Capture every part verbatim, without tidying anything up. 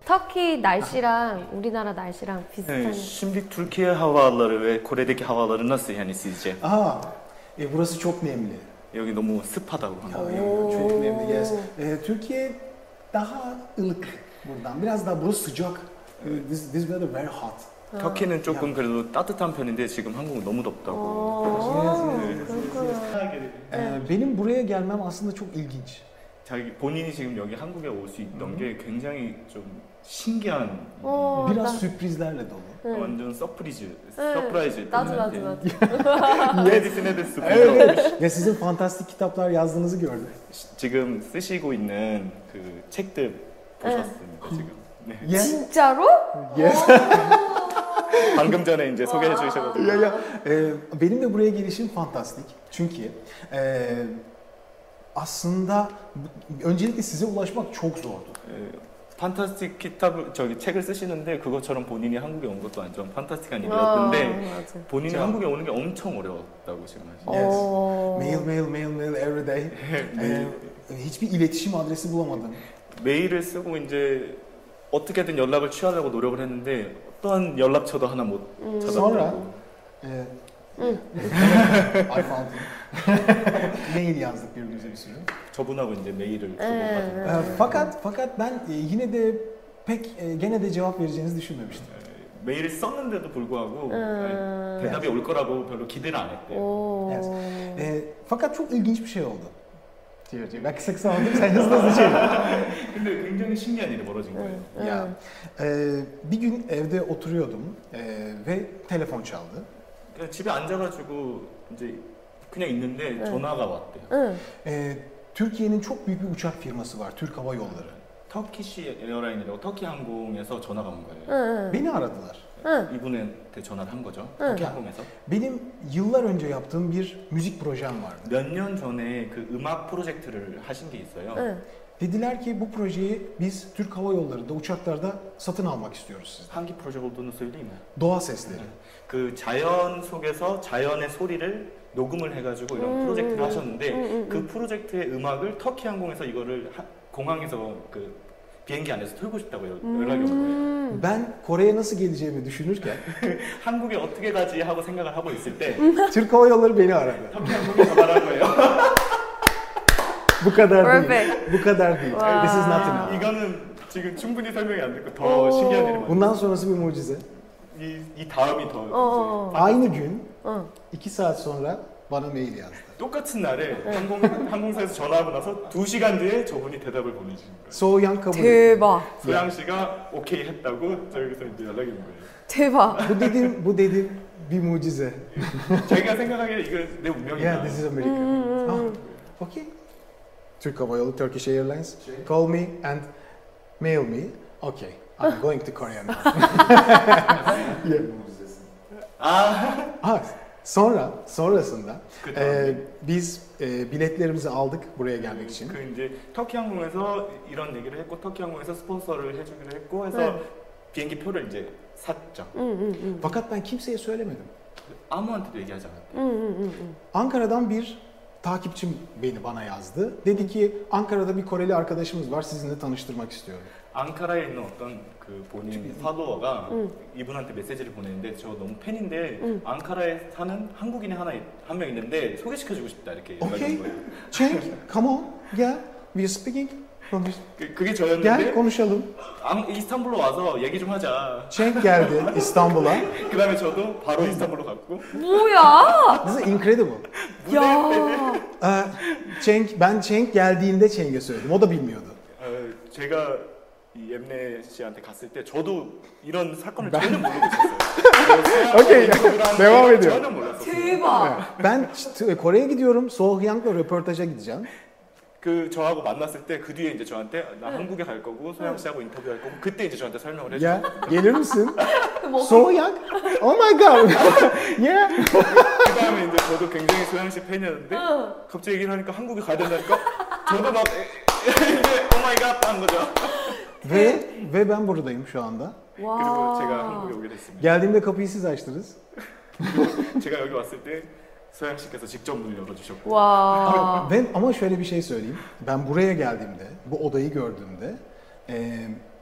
터키 날씨랑 우리나라 날씨랑 비슷한. Evet, şimdi Türkiye havaları ve Kore'deki havaları nasıl yani sizce? Aa, e, burası çok nemli. 여기 너무 습하다고. Ya, ya, çok nemli. Yes. E, Türkiye daha ılık buradan. Biraz daha burası sıcak. E, this, this weather very hot. 터키는 조금 그래도 따뜻한 편인데 지금 한국은 너무 덥다고. Ee, benim buraya gelmem aslında çok ilginç. 자기 본인이 지금 여기 한국에 올 수 있던 게 굉장히 좀 신기한. 어, Biraz 나- sürprizlerle dolu. 완전 서프리즈, 서프라이즈. 나도 나도 나도. Medisine de sürpriz Evet. olmuş. Ya sizin fantastik kitaplar yazdığınızı gördüm. 지금 쓰시고 있는 그 책들 보셨습니다 지금. 네. Yes. 진짜로? Yes. 방금 전에 이제 소개해 주셔가지고. ya, ya. Ee, benim de buraya gelişim fantastik. Çünkü e, aslında bu- öncelikle size ulaşmak çok zordu. 판타스틱 키tab을 저기 책을 쓰시는데 그것처럼 본인이 한국에 온 것도 완전 판타스틱한 아, 일이었는데 맞아. 본인이 자. 한국에 오는 게 엄청 어려웠다고 지금 하시죠. Yes. 어. Mail, mail, mail, mail every day. Ee, hiçbir iletişim adresi bulamadım. 메일을 쓰고 이제 어떻게든 연락을 취하려고 노력을 했는데 어떠한 연락처도 하나 못 Sonra 찾았고. e, I found him. Mail yazdık birbirimize bir sürü. 저분하고 이제 메일을 네. 주고받은. Ee, fakat fakat ben e, yine de pek e, gene de cevap vereceğinizi düşünmemiştim. 메일을 썼는데도 불구하고 음. 대답이 올 거라고 별로 기대를 안 했대요. 오. Evet. Ee, fakat çok ilginç bir şey oldu. Diyor, diyor. Ben kısa kısa anladım, sen hızlı hızlı çevir. 근데 굉장히 신기한 일이 벌어진 거예요. 응. Ya, e, bir gün evde oturuyordum e, ve telefon çaldı. 그냥 집에 앉아가지고 이제 그냥 있는데 응. 전화가 왔대요. 응. E, Türkiye'nin çok büyük bir uçak firması var, Türk Hava Yolları. 터키시 에어라인이라고 터키 항공에서 전화가 온 거예요. 응. Beni aradılar. 응. 이분한테 전화를 한 거죠. 응. 터키 항공에서. Benim yıllar önce yaptığım bir müzik projem vardı. 몇 년 전에 그 음악 프로젝트를 하신 게 있어요. 응. Dediler ki bu projeyi biz Türk Hava Yolları'nda uçaklarda satın almak istiyoruz sizden. 한기 프로젝트 olduğunu söyleyeyim mi? Doğa sesleri. 그 자연 속에서 자연의 소리를 녹음을 해가지고 이런 음, 프로젝트를 음, 하셨는데 음, 음, 그 음. 프로젝트의 음악을 터키 항공에서 이거를 하- 공항에서 그 비행기 안에서 틀고 싶다고 연- 연락이 온 거예요. 음. Ben Kore'ye nasıl geleceğimi düşünürken 한국에 어떻게 가지 하고 생각을 하고 있을 때 Türk Hava Yolları beni aradı. 터키 항공이 전화를 한 거예요. Bu kadar değil. Perfect. Bu kadar değil. Wow. This is not enough. 이거는 지금 충분히 설명이 안 됐고 더 오. 신기한 일이 많아요. Bundan sonrası bir mucize. 이, 이 다음이 더 어. 이제 Aynı gün 응. iki saat sonra bana mail yazdı. 똑같은 날에 항공, 항공사에서 전화하고 나서 두 시간 뒤에 저분이 대답을 보내주신 거예요. Soğuyan kabul etti. 대박. 소양 씨가 오케이 했다고 저기서 이제 연락이 온 거예요. 대박. Bu dedim, bu dedim bir mucize. 자기가 생각하기에 이거 내 운명이다. Yeah, this is America. 음, 음, Ah, 음. okay. Türk Hava Yolu, Turkish Airlines. Call me and mail me. Okay, I'm going to Korea now. Yeah. 아, Ha, sonra, sonrasında 그 e, 다음에 biz e, biletlerimizi aldık buraya gelmek için. 그 이제 터키 항공에서 이런 얘기를 했고 터키 항공에서 스폰서를 해주기로 했고 해서 네. 비행기 표를 이제 샀죠. 응, 응, 응. Fakat ben kimseye söylemedim. 아무한테도 얘기하지 않았대. 응, 응, 응, 응. Ankara'dan bir takipçim beni bana yazdı. Dedi ki Ankara'da bir Koreli arkadaşımız var, sizinle tanıştırmak istiyorum. 앙카라에 있는 어떤 그 본인 팔로워가 응. 이분한테 메시지를 보내는데 저 너무 팬인데 응. 앙카라에 사는 한국인이 하나 한 명 있는데 소개시켜주고 싶다 이렇게 연락이 Okay. 온 거예요. Cenk, come on, gel. We are speaking. Konuş. 그, 그게 Gel 저였는데 konuşalım. 앙, 이스탄불로 와서 얘기 좀 하자. Cenk geldi İstanbul'a. 그 다음에 저도 바로 이스탄불로 갔고 뭐야? This is incredible. 야. Ee, Cenk, ben Cenk geldiğinde Cenk'e söyledim. O da bilmiyordu. 어, 제가 이 엠네 씨한테 갔을 때 저도 이런 사건을 전혀 모르고 있었어요. Okey, devam ediyor. 전혀 몰랐었어요. 대박. Ben işte Kore'ye gidiyorum. Sohyang'la röportaja gideceğim. 그 저하고 만났을 때 그 뒤에 이제 저한테 나 한국에 갈 거고 소양 씨하고 인터뷰할 거고 그때 이제 저한테 설명을 해줘. Ya gelir misin? 뭐, Sohyang? Oh my god. Yeah. 그 다음에 이제 저도 굉장히 소양 씨 팬이었는데 응. 갑자기 얘기를 하니까 한국에 가야 된다니까 저도 막 이제 오마이갓 한 거죠. Ve ve ben buradayım şu anda. 그리고 제가 와. 한국에 오게 됐습니다. Geldiğimde kapıyı siz açtınız. 제가 여기 왔을 때 소양 씨께서 직접 문을 열어주셨고 와. Ve ama şöyle bir şey söyleyeyim. Ben buraya geldiğimde, bu odayı gördüğümde e,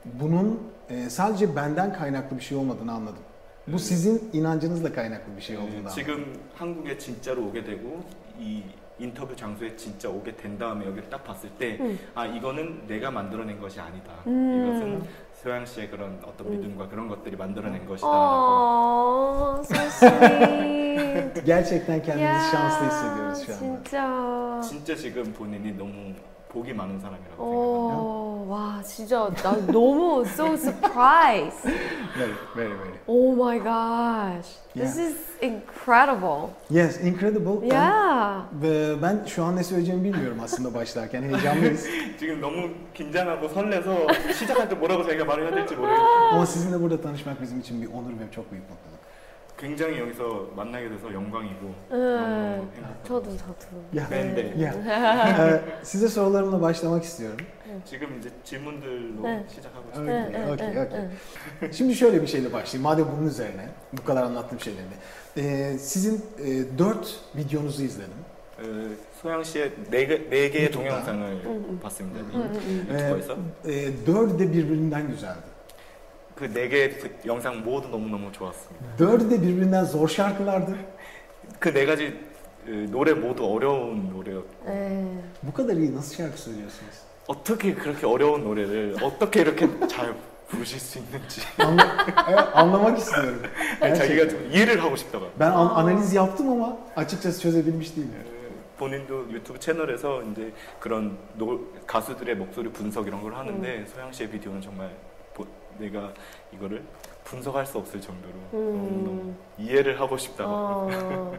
bunun e, sadece benden kaynaklı bir şey olmadığını anladım. Bu sizin inancınızla kaynaklı bir şey olduğunu 네, anladım. 지금 한국에 진짜로 오게 되고 이 인터뷰 장소에 진짜 오게 된 다음에 여기를 딱 봤을 때 아 이거는 내가 만들어낸 것이 아니다. 이것은 소양 씨의 그런 어떤 믿음과 그런 것들이 만들어낸 것이다라고. Oh, so sweet. Gerçekten kendimizi Ya, şanslı hissediyoruz şu anda. 진짜. 진짜 지금 본인이 너무 복이 많은 사람이라고 생각합니다. 어, 와, 진짜 나 너무 so surprised. Very, very, very. Oh my gosh. This Yeah. is incredible. Yes, incredible. Yeah. Ben, ben şu an ne söyleyeceğimi bilmiyorum aslında başlarken. Heyecanlıyız. 지금 너무 긴장하고 설레서 시작할 때 뭐라고 자기가 말을 해야 될지 모르겠어요. Ama sizinle burada tanışmak bizim için bir onur ve çok büyük mutluluk. 굉장히 여기서 만나게 돼서 영광이고 응, 너무 행복합니다. 저도 저도. Ya. 네, 네. Ya. Ee, size sorularımla başlamak istiyorum. 지금 이제 질문들로 네. 시작하고 응, 싶어요. 응, okey, 응, okey. 응. Şimdi şöyle bir şeyle başlayayım. Madem bunun üzerine bu kadar anlattığım şeylerinde. Ee, sizin e, dört videonuzu izledim. 어, 소양 씨의 네, 개, 네 개의 유튜브다. 동영상을 응, 봤습니다. 응, 응, 응. 유튜버에서. E, dördü de birbirinden güzeldi. 그 네 개의 그 영상 모두 너무너무 좋았습니다. Dördü de birbirinden zor şarkılardı. 그 네 가지 그 노래 모두 어려운 노래였고 네. Bu kadar iyi nasıl şarkı söylüyorsunuz? 어떻게 그렇게 어려운 노래를 어떻게 이렇게 잘 부르실 수 있는지 Anla- evet, anlamak istiyorum. 아니, 자기가 Gerçekten. 좀 이해를 하고 싶다고. Ben an- analiz yaptım ama açıkçası çözebilmiş değilim. 어, 본인도 유튜브 채널에서 이제 그런 노, 가수들의 목소리 분석 이런 걸 하는데 소양 씨의 비디오는 정말 보, 내가 이거를 분석할 수 없을 정도로 너무너무 음. 이해를 하고 싶다고. 어,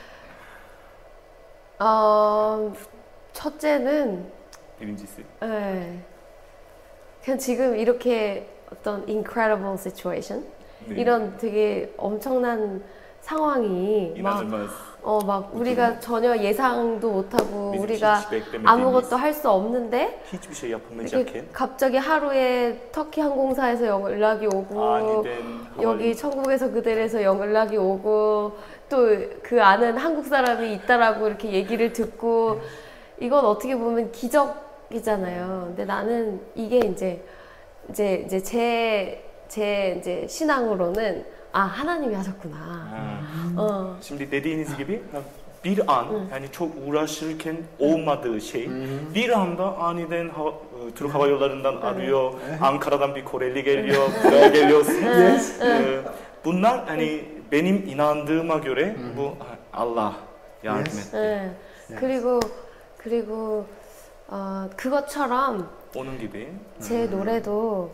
어, 첫째는 비린지 씨. 네. 그냥 지금 이렇게 어떤 incredible situation 네. 이런 되게 엄청난 상황이 막, 이나즈마스 어, 막 우리가 전혀 예상도 못하고 bizim 우리가 hiç beklemediğimiz, 아무것도 할 수 없는데 hiçbir şey yapılmayacak 이렇게 갑자기 하루에 터키 항공사에서 연락이 오고 aniden 여기 천국에서 그대에서 연락이 오고 또 그 아는 한국 사람이 있다라고 이렇게 얘기를 듣고 이건 어떻게 보면 기적이잖아요. 근데 나는 이게 이제 이제 이제 제 제 이제 신앙으로는 아 하나님이 하셨구나. 아, 어. şimdi dediğiniz gibi bir an yani çok uğraşırken olmadığı şey bir anda aniden hava, e, Türk Hava Yolları'ndan arıyor, Ankara'dan bir Koreli geliyor, buraya geliyorsunuz. Yes. E, bunlar hani benim inandığıma göre bu Allah yardım Yes. etti. 네. 그리고 그리고 어, 그것처럼 Onun gibi. 제 노래도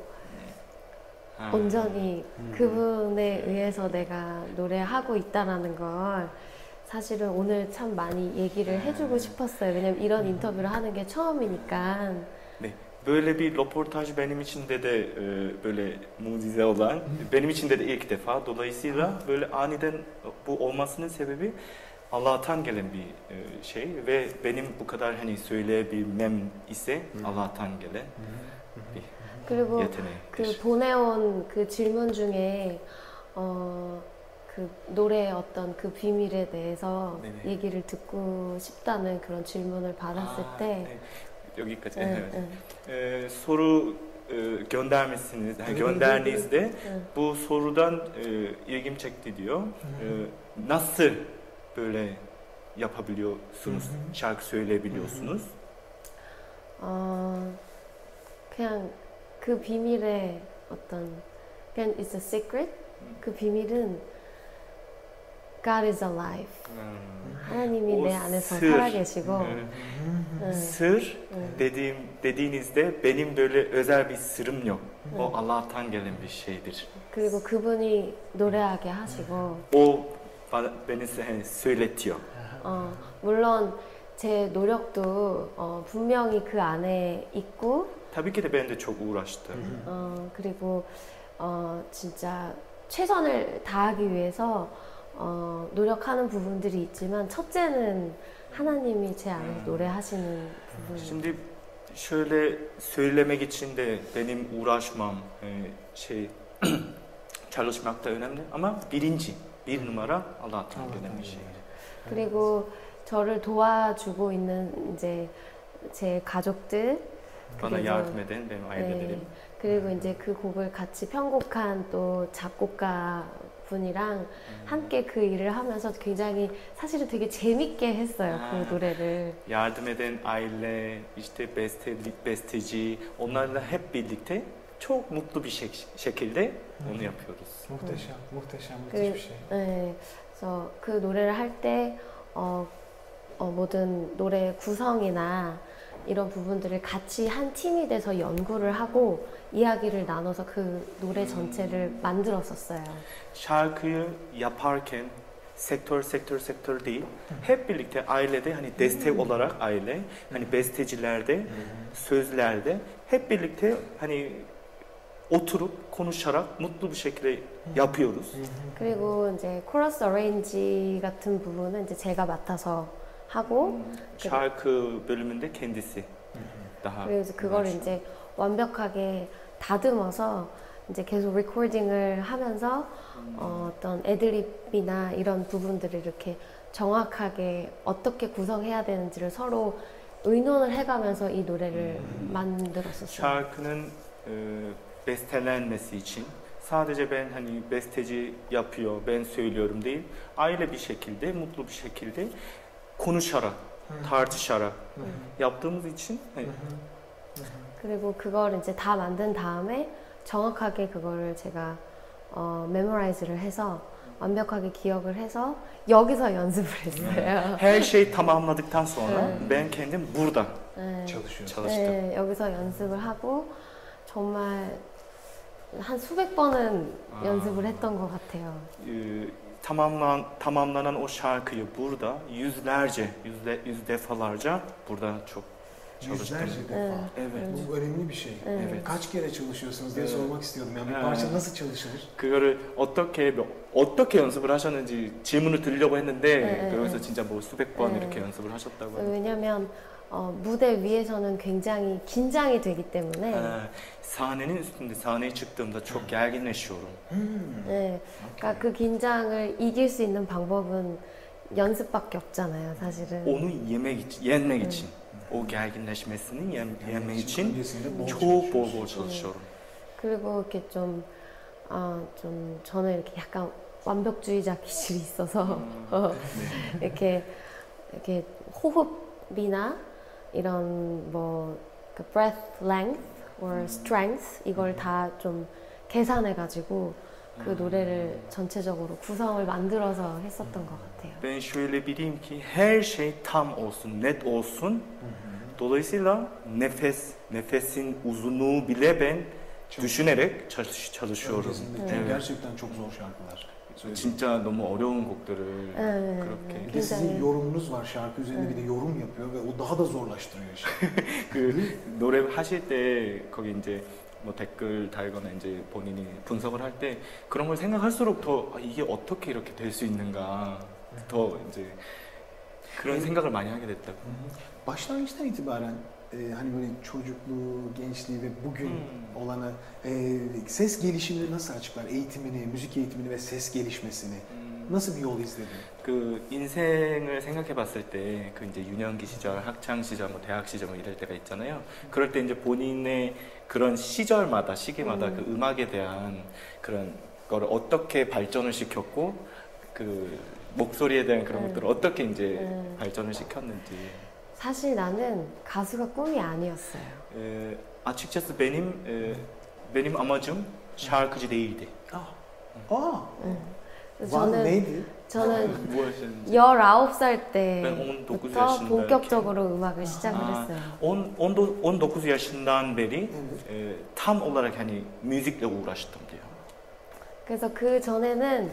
아, 온전히 그분에 의해서 내가 노래하고 있다라는 걸 사실은 오늘 참 많이 얘기를 해주고 싶었어요. 왜냐면 이런 인터뷰를 하는 게 처음이니까. 네. Böyle bir röportaj benim için de de e, böyle mucize olan, benim için de de ilk defa. Dolayısıyla böyle aniden bu olmasının sebebi Allah'tan gelen bir e, şey ve benim bu kadar hani söyleyebilmem ise Allah'tan gelen bir 그리고 yetenek. 그 보내온 그 질문 중에 어, 그 노래의 어떤 그 비밀에 대해서 네네. 얘기를 듣고 싶다는 그런 질문을 받았을 아, 때 네. 여기까지. 응, evet. 응, E, soru e, göndermişsiniz, yani gönderdiğinizde 응. bu sorudan e, ilgim çekti diyor. E, nasıl böyle yapabiliyorsunuz, şarkı söyleyebiliyorsunuz? 어, 그냥 그 비밀의 어떤 그냥 it's a secret. 그 비밀은 God is alive. Hmm. 하나님이 O 내 안에서 sır. 살아계시고 Ee, 응, Sır 응. dediğim dediğinizde benim böyle özel bir sırım yok. O Allah'tan gelen bir şeydir. 그리고 그분이 노래하게 하시고 O bana, beni se- söyletiyor. 어, 물론 제 노력도 어, 분명히 그 안에 있고 Tabii ki de ben de çok uğraştım. 어, 그리고 어, 진짜 최선을 다하기 위해서 어, 노력하는 부분들이 있지만 첫째는 하나님이 제 안에서 노래하시는 부분. Şimdi şöyle söylemek için de benim uğraşmam, e, şey çalışmak da önemli ama birinci, bir numara Allah'tan gelen bir şey. 그리고 저를 도와주고 있는 이제 제 가족들 bana 그래서- yardım eden benim ailelerim. 네. 그리고 이제 그 곡을 같이 편곡한 또 작곡가 분이랑 음. 함께 그 일을 하면서 굉장히 사실은 되게 재밌게 했어요. 아. 그 노래를. Yardım eden aile, işte beste, besteci, onlarla hep birlikte çok mutlu bir şek- şekilde onu yapıyoruz. Muhteşem, muhteşem, 그, müthiş bir şey. 네, 그래서 그 노래를 할 때 어, 어, 모든 노래 구성이나 이런 부분들을 같이 한 팀이 돼서 연구를 하고 이야기를 나눠서 그 노래 전체를 만들었었어요. Şarkıyı yaparken sektör sektör sektör değil, hep birlikte ailede hani destek olarak aile, hani bestecilerde, sözlerde hep birlikte hani oturup konuşarak mutlu bir şekilde yapıyoruz. 그리고 이제 코러스 어레인지 같은 부분은 이제 제가 맡아서 하고 Şarkı bölümünde kendisi daha 그래서 그걸 uğraşıyor. 이제 완벽하게 다듬어서 이제 계속 리코딩을 하면서 어, 어떤 애드립이나 이런 부분들을 이렇게 정확하게 어떻게 구성해야 되는지를 서로 의논을 해가면서 이 노래를 만들었었어요. Şarkının e, bestelenmesi için sadece ben hani besteci yapıyor, ben söylüyorum değil, aile bir şekilde, mutlu bir şekilde konuşarak, tartışarak yaptığımız için hani, 그리고 그걸 이제 다 만든 다음에 정확하게 그거를 제가 어, 메모라이즈를 해서 완벽하게 기억을 해서 여기서 연습을 했어요. her şey tamamladıktan sonra Evet. ben kendim burada 네. Çalışıyor. çalıştım. 네, 여기서 연습을 하고 정말 한 수백 번은 아. 연습을 했던 것 같아요. Ee, tamamlan, tamamlanan o şarkıyı burada yüzlerce, yüzde, yüz defalarca burada çok çalıştım. Yüzlerce defa. Evet. Evet. Bu önemli bir şey. Evet. Kaç kere çalışıyorsunuz diye Evet. sormak istiyordum. Yani bir Ha. parça nasıl çalışılır? 그거를 어떻게 어떻게 연습을 하셨는지 질문을 드리려고 했는데 네, 그래서 네. 진짜 뭐 수백 번 네. 이렇게 연습을 하셨다고. 왜냐면 어, 무대 위에서는 굉장히 긴장이 되기 때문에 Ha, sahnenin üstünde sahneye çıktığımda çok gerginleşiyorum. Hmm. 네, 그러니까 그 긴장을 이길 수 있는 방법은 연습밖에 없잖아요, 사실은. Onu yemek için, yenmek için, o gerginleşmesini yem, yenmek için öncesinde bol çok bol bol çalışıyorsunuz. çalışıyorum. 그리고 이렇게 좀, 아, 좀 저는 이렇게 약간 완벽주의자 기질이 있어서 어, 이렇게 이렇게 호흡이나 이런 뭐 그 breath length or strength 이걸 다 좀 계산해 가지고 그 노래를 전체적으로 구성을 만들어서 했었던 것 같아요. Ben şöyle bileyim ki her şey tam olsun, net olsun. Dolayısıyla nefes, nefesin uzunluğu bile ben düşünerek çalış, çalışıyorum. Öncesinde Evet. çünkü gerçekten çok zor şarkılar. söylediğim. 진짜 너무 어려운 곡들을 네, 그렇게 Bir de sizin 굉장히 yorumunuz var. Şarkı üzerinde bir de yorum yapıyor ve o daha da zorlaştırıyor işi. 그 노래 하실 때 거기 이제 뭐 댓글 달거나 이제 본인이 분석을 할 때 그런 걸 생각할수록 더 아, 이게 어떻게 이렇게 될 수 있는가 더 이제 그런 생각을 많이 하게 됐다고. Başlangıçtan itibaren e, hani böyle çocukluğu, gençliği ve bugün Hmm. olanı e, ses gelişimini nasıl açıklar? Eğitimini, müzik eğitimini ve ses gelişmesini 음, nasıl bir yol izledin? 그 인생을 생각해봤을 때 그 이제 유년기 시절, 학창 시절, 뭐 대학 시절 뭐 이럴 때가 있잖아요. 그럴 때 이제 본인의 그런 시절마다 시기마다 음. 그 음악에 대한 그런 거를 어떻게 발전을 시켰고 그 목소리에 대한 그런 음. 것들을 어떻게 이제 음. 발전을 시켰는지. 사실 나는 가수가 꿈이 아니었어요. Ee, açıkçası benim e, benim amacım şarkıcı değildi. Aa, 그래서 var 저는 neydi? 저는 Bu yaşın- 열아홉 살 Ben on dokuz 때부터 yaşındayken 본격적으로 음악을 시작을 아, 했어요. on, on, do- on dokuz yaşından beri Evet. e, tam olarak hani müzikle uğraştım diyor. 그래서 그 전에는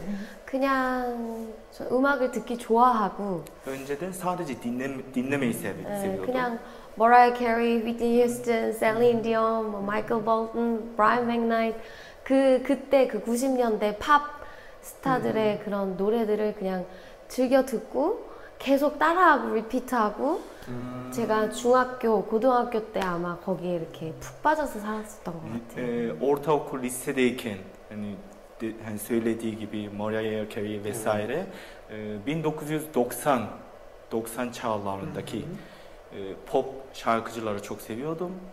그냥 저 음악을 듣기 좋아하고 Önceden sadece dinleme, dinlemeyi sev, 에, seviyordum. 그냥 Mariah Carey, Whitney Houston, Celine Dion, 뭐 Michael Bolton, Brian McKnight 그 그때 그 구십 년대 팝 스타들의 그런 노래들을 그냥 즐겨 듣고 계속 따라하고 리피트하고 음, 제가 중학교, 고등학교 때 아마 거기에 이렇게 푹 빠져서 살았었던 것 같아요. e, ortaokul lisedeyken hani, de- hani söylediği gibi Mariah Carey vesaire e, bin dokuz yüz doksan doksan çağlarındaki e, pop şarkıcıları çok seviyordum.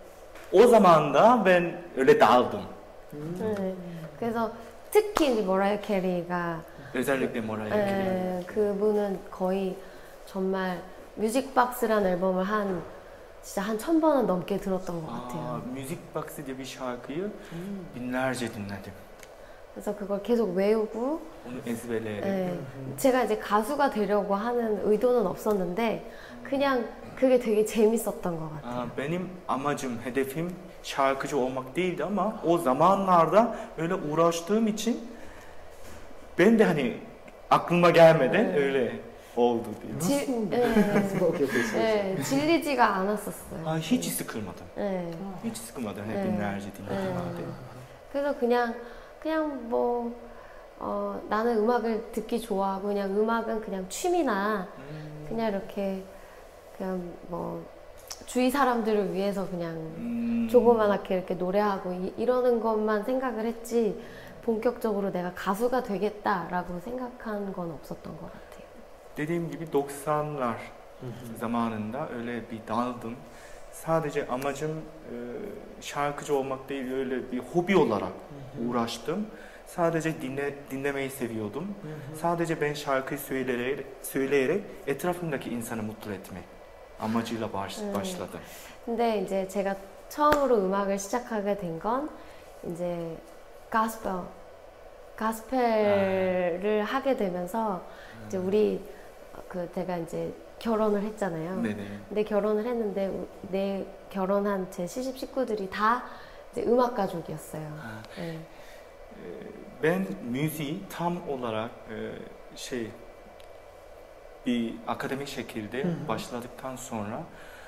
o zaman da ben öyle daldım. 네. 그래서 특히 이제 머라이어 캐리가 özellikle Mariah Carey. 네, 그분은 거의 정말 뮤직박스라는 앨범을 한 진짜 한 천 번은 넘게 들었던 것 Aa, 같아요. Music Box diye bir şarkıyı binlerce dinledim. 그래서 그걸 계속 외우고 Onu ezberleyerek. 네, 제가 이제 가수가 되려고 하는 의도는 없었는데 그냥 그게 되게 재밌었던 것 같아요. Aa, benim amacım, hedefim şarkıcı olmak değildi ama o zamanlarda öyle uğraştığım için ben de hani aklıma gelmeden Evet. öyle oldu diye. 질, Nasıl? 네, Nasıl okey peki? 네, 질리지가 않았었어요. Aa, hiç sıkılmadım. 네. Hiç sıkılmadım. Hep Evet. binlerce dinledim. 네. 그래서 그냥 그냥 뭐 어, 나는 음악을 듣기 좋아하고 그냥 음악은 그냥 취미나 그냥 이렇게 그냥 뭐 주위 사람들을 위해서 그냥 Hmm. 조그맣게 이렇게 노래하고 이, 이러는 것만 생각을 했지 본격적으로 내가 가수가 되겠다라고 생각한 건 없었던 것 같아요. Dediğim gibi doksanlar zamanında öyle bir daldım. Sadece amacım e, şarkıcı olmak değil, öyle bir hobi olarak uğraştım. Sadece dinle, dinlemeyi seviyordum. Sadece ben şarkı söyleyerek, söyleyerek etrafımdaki insanı mutlu etmek amacıyla baş, 음. başladım. 근데 이제 제가 처음으로 음악을 시작하게 된 건 이제 가스펠, 가스펠을 하게 되면서 이제 우리 그 제가 이제 결혼을 했잖아요. 네네. 근데 결혼을 했는데 우- 내 결혼한 제 시집 식구들이 다 이제 음악 가족이었어요. Ha, 네. e, Ben müziği tam olarak e, şey bir akademik şekilde Hı hı. başladıktan sonra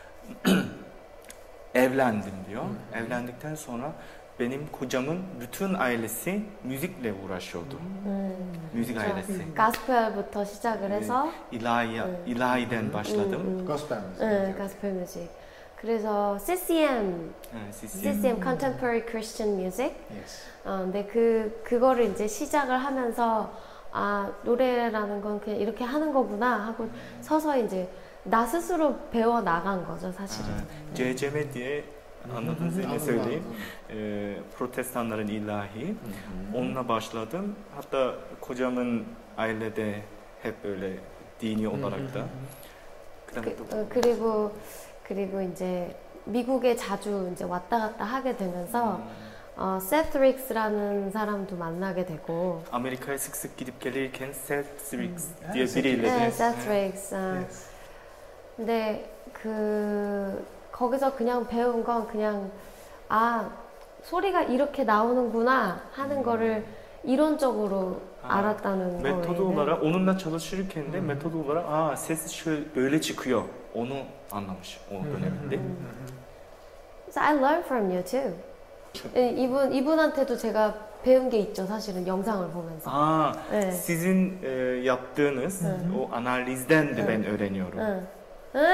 evlendim diyor. Evlendikten sonra benim kocamın bütün ailesi müzikle uğraşıyordu. 음, Müzik 그렇죠. ailesi. 가스펠부터 시작을 해서 İlahi, 음. ilahiden başladım. 음, 음. Gospel müzik. 네, 가스펠 뮤직. 그래서 씨씨엠, Evet, siz- 씨씨엠 Contemporary Christian Music. Yes. 어, 근데 그 그거를 이제 시작을 하면서 아 노래라는 건 그냥 이렇게 하는 거구나 하고 서서히 이제 나 스스로 배워 나간 거죠 사실은. Ha, C C M diye anladınız ne Anladım, söyleyeyim. anladım. Ee, protestanların ilahi. Hı hı. Onunla başladım. Hatta kocamın ailede hep böyle dini olarak da. 그다음에 그, 또 어, 그리고 그리고 이제 미국에 자주 이제 왔다 갔다 하게 되면서 어, 세트 릭스라는 사람도 만나게 되고. Amerika'ya sık sık gidip gelirken Seth Riggs Hmm. diye Ha, biriyle 네, de 세트 릭스. 어. Yes. 근데 그 거기서 그냥 배운 건 그냥 아 소리가 이렇게 나오는구나 하는 거를 이론적으로 아, 알았다는 metodu 거예요. olarak onunla çalışırken de Hmm. metodu olarak aa ses şöyle böyle çıkıyor. Onu anlamış o döneminde. So I learned from you too. 예, 이분 이분한테도 제가 배운 게 있죠. 사실은 영상을 보면서. Aa, 네. sizin e, yaptığınız o analizden de ben öğreniyorum. 응. 응.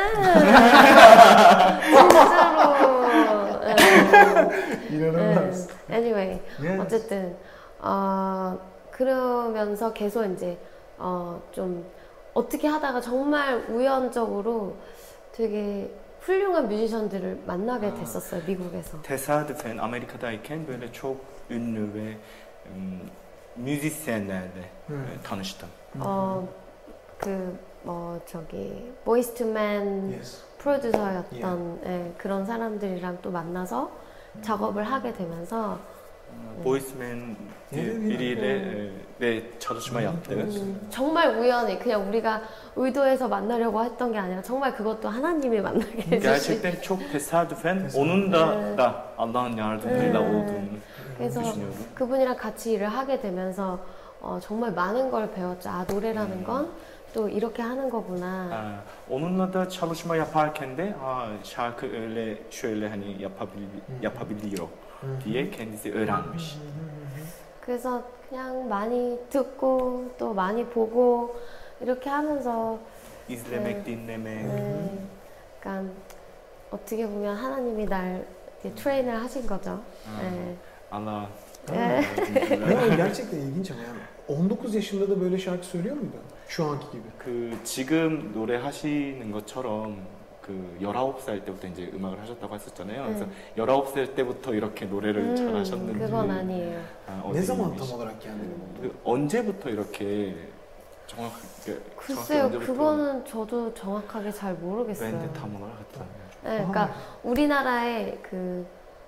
진짜로. 응. İnanılmaz. 응. Anyway, Yes. 어쨌든 어 그러면서 계속 이제 어 좀 어떻게 하다가 정말 우연적으로 되게 훌륭한 뮤지션들을 만나게 됐었어요. 미국에서. Tesadüfen Amerika'dayken böyle çok ünlü ve ım, müzisyenlerle Hı. e, tanıştım. 어그뭐 저기 보이스 투맨 Yes. 프로듀서였던 예, 그런 사람들이랑 또 만나서 작업을 하게 되면서 Boysman diye Evet, biriyle evet. e, de çalışma yaptık. 음, 정말 우연히 그냥 우리가 의도해서 만나려고 했던 게 아니라 정말 그것도 하나님이 만나게 해주신. Gerçekten çok tesadüfen Tesadüfen. onun da Evet. da Allah'ın yardımıyla Evet. olduğunu 그래서 düşünüyorum. 그분이랑 같이 일을 하게 되면서 어, 정말 많은 걸 배웠죠. 아 노래라는 건 또 이렇게 하는 거구나. Ha, onunla da çalışma yaparken de ha, şarkı öyle şöyle hani yapabil, yapabiliyor diye kendisi öğrenmiş. 그래서 그냥 많이 듣고 또 많이 보고 이렇게 하면서 İzlemek, Evet. dinlemek. 네, 약간 어떻게 보면 하나님이 날 이렇게 트레이너를 하신 거죠. 네. Allah 네. Ya gerçekten ilginç ama yani on dokuz yaşında da böyle şarkı söylüyor muydu? Şu anki gibi. 그 지금 노래하시는 것처럼 그 그 열아홉 살 때부터 이제 음악을 하셨다고 했었잖아요. 네. 그래서 열아홉 살 때부터 이렇게 노래를 음, 잘하셨는지. 그건 아니에요. 아, Ne 어떻게 zaman 계시- tam olarak kendini buldun? 그 언제부터 이렇게 정확하게 정확히 글쎄요, 언제부터 그거는 저도 정확하게 잘 모르겠어요. 밴드 탐험을 하셨다. 네, 그러니까 우리나라에 그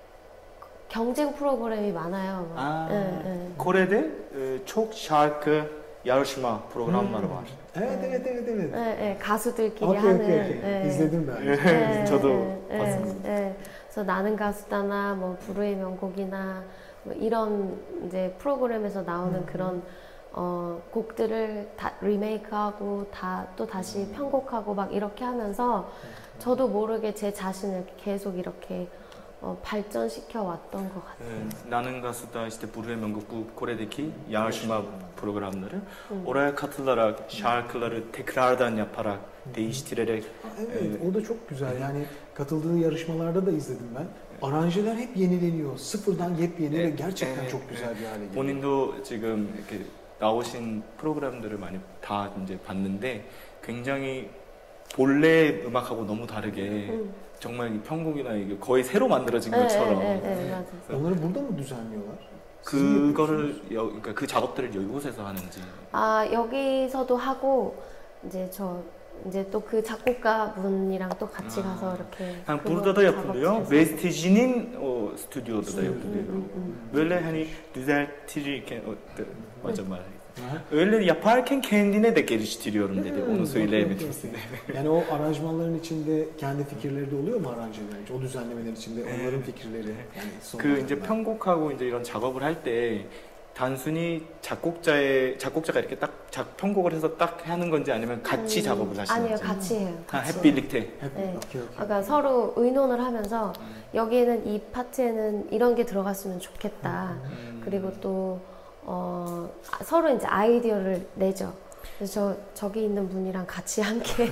경쟁 프로그램이 많아요. 막. 아, 네, 네. Kore'de e, çok şarkı yarışma programları var. Evet evet evet evet. 네, 네, 가수들끼리 Okey 하는. okey okey. 네. İzledim ben. 네, 저도 네, 봤습니다. 네. 그래서 나는 가수다나 뭐 불후의 명곡이나 뭐 이런 이제 프로그램에서 나오는 음. 그런 어, 곡들을 다 리메이크하고 다 또 다시 편곡하고 막 이렇게 하면서 저도 모르게 제 자신을 계속 이렇게 어, 발전시켜 왔던 것 같아요. E, 나는 가수다 işte Buraya Mengup bu Kore'deki yarışma programları. 음. Oraya katılarak şarkıları tekrardan yaparak, değiştirerek Evet, o da çok güzel. Yani katıldığı yarışmalarda da izledim ben. Aranjeler hep yenileniyor. Sıfırdan yepyeni ve gerçekten Evet, çok güzel bir hale geliyor. 본인도 지금 이렇게 나오신 프로그램들을 많이 다 이제 봤는데 굉장히 본래 음악하고 너무 다르게 음. 정말 이 편곡이나 이게 거의 새로 만들어진 네, 것처럼 네, 네, 네, 맞아요. Onları burada mı düzenliyorlar? Siz mi 그거를 yapıyorsunuz? 여, 그러니까 그 작업들을 이곳에서 하는지. 아, 여기서도 하고 이제 저 이제 또 그 작곡가 분이랑 또 같이 아. 가서 이렇게 Yani 그거 burada da yapılıyor. 작업실에서. Vestici'nin o stüdyoda da yapılıyor. 음, 음, Böyle hani düzeltirirken o, hocam var. Aha. Öyle yaparken kendine de geliştiriyorum dedi. Hmm, Onu söyleyemedim okey, size. okey. Yani o aranjmanların içinde kendi fikirleri de oluyor mu aranjelerin? O düzenlemelerin içinde onların fikirleri. Yani son 그 이제 anda. 편곡하고 이제 이런 작업을 할 때 단순히 작곡자의 작곡자가 이렇게 딱 작, 편곡을 해서 딱 하는 건지 아니면 같이 음, 작업을 하시는지. 아니요, 같이 해요. 아, 같이. 햇빛릭테. Hep, 네. okey, okey. 그러니까 서로 의논을 하면서 여기에는 이 파트에는 이런 게 들어갔으면 좋겠다. 음. 그리고 또 어, 아, 서로 이제 아이디어를 내죠. 그래서 저, 저기 있는 분이랑 같이 함께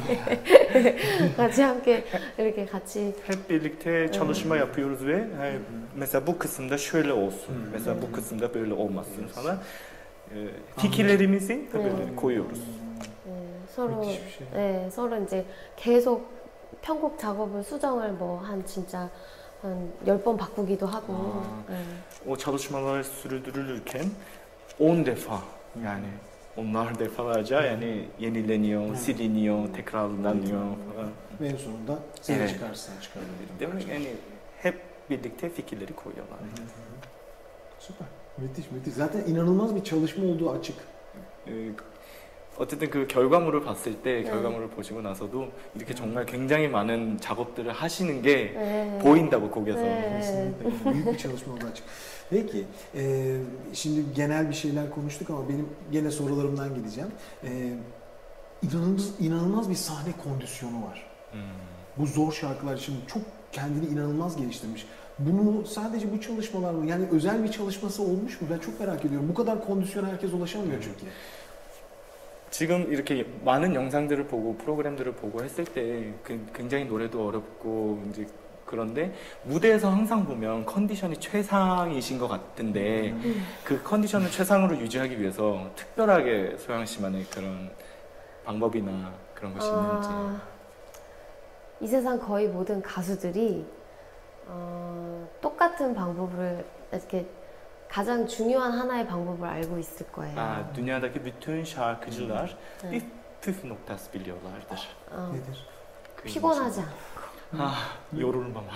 같이 함께 이렇게 같이 Hep birlikte çalışma yapıyoruz ve hani, mesela bu kısımda şöyle olsun, Hmm. mesela bu kısımda böyle olmasın falan. E, fikirlerimizi böyle Hmm. koyuyoruz. 네, 서로 müthiş bir şey. 네, 서로 이제 계속 편곡 작업을 수정을 뭐 한 진짜 한 열 번 바꾸기도 하고. 아. 네. O çalışmalar sürdürülürken on defa yani onlar defalarca yani yenileniyor, Hmm. siliniyor, tekrarlanıyor falan. Ve en sonunda sen Evet. çıkarsın çıkarabilirim. Değil mi? Yani hep birlikte fikirleri koyuyorlar. Süper. Müthiş müthiş. Zaten inanılmaz bir çalışma olduğu açık. 그, 어쨌든 그 결과물을 봤을 때 네. 결과물을 보시고 나서도 이렇게 정말 굉장히 많은 작업들을 하시는 게 네. 보인다고 거기서. 네. Kesinlikle. Büyük bir çalışma olduğu açık. Peki, e, şimdi genel bir şeyler konuştuk ama benim gene sorularımdan gideceğim. E, inanılmaz, inanılmaz bir sahne kondisyonu var. 음. Bu zor şarkılar için çok kendini inanılmaz geliştirmiş. Bunu sadece bu çalışmalar mı? Yani özel bir çalışması olmuş mu? Ben çok merak ediyorum. Bu kadar kondisyona herkes ulaşamıyor çünkü. 지금 이렇게 많은 영상들을 보고 프로그램들을 보고 했을 때 그- 굉장히 노래도 어렵고 이제 그런데 무대에서 항상 보면 컨디션이 최상이신 것 같은데 음. 그 컨디션을 최상으로 유지하기 위해서 특별하게 소양 씨만의 그런 방법이나 그런 것이 있는지. 아, 이 세상 거의 모든 가수들이 어, 똑같은 방법을 이렇게 가장 중요한 하나의 방법을 알고 있을 거예요. 아, dünyadaki bütün şarkıcılar 네. bir püf noktası biliyorlardır. 어, Nedir? 그 피곤하지 않아. 아, yorulmamak.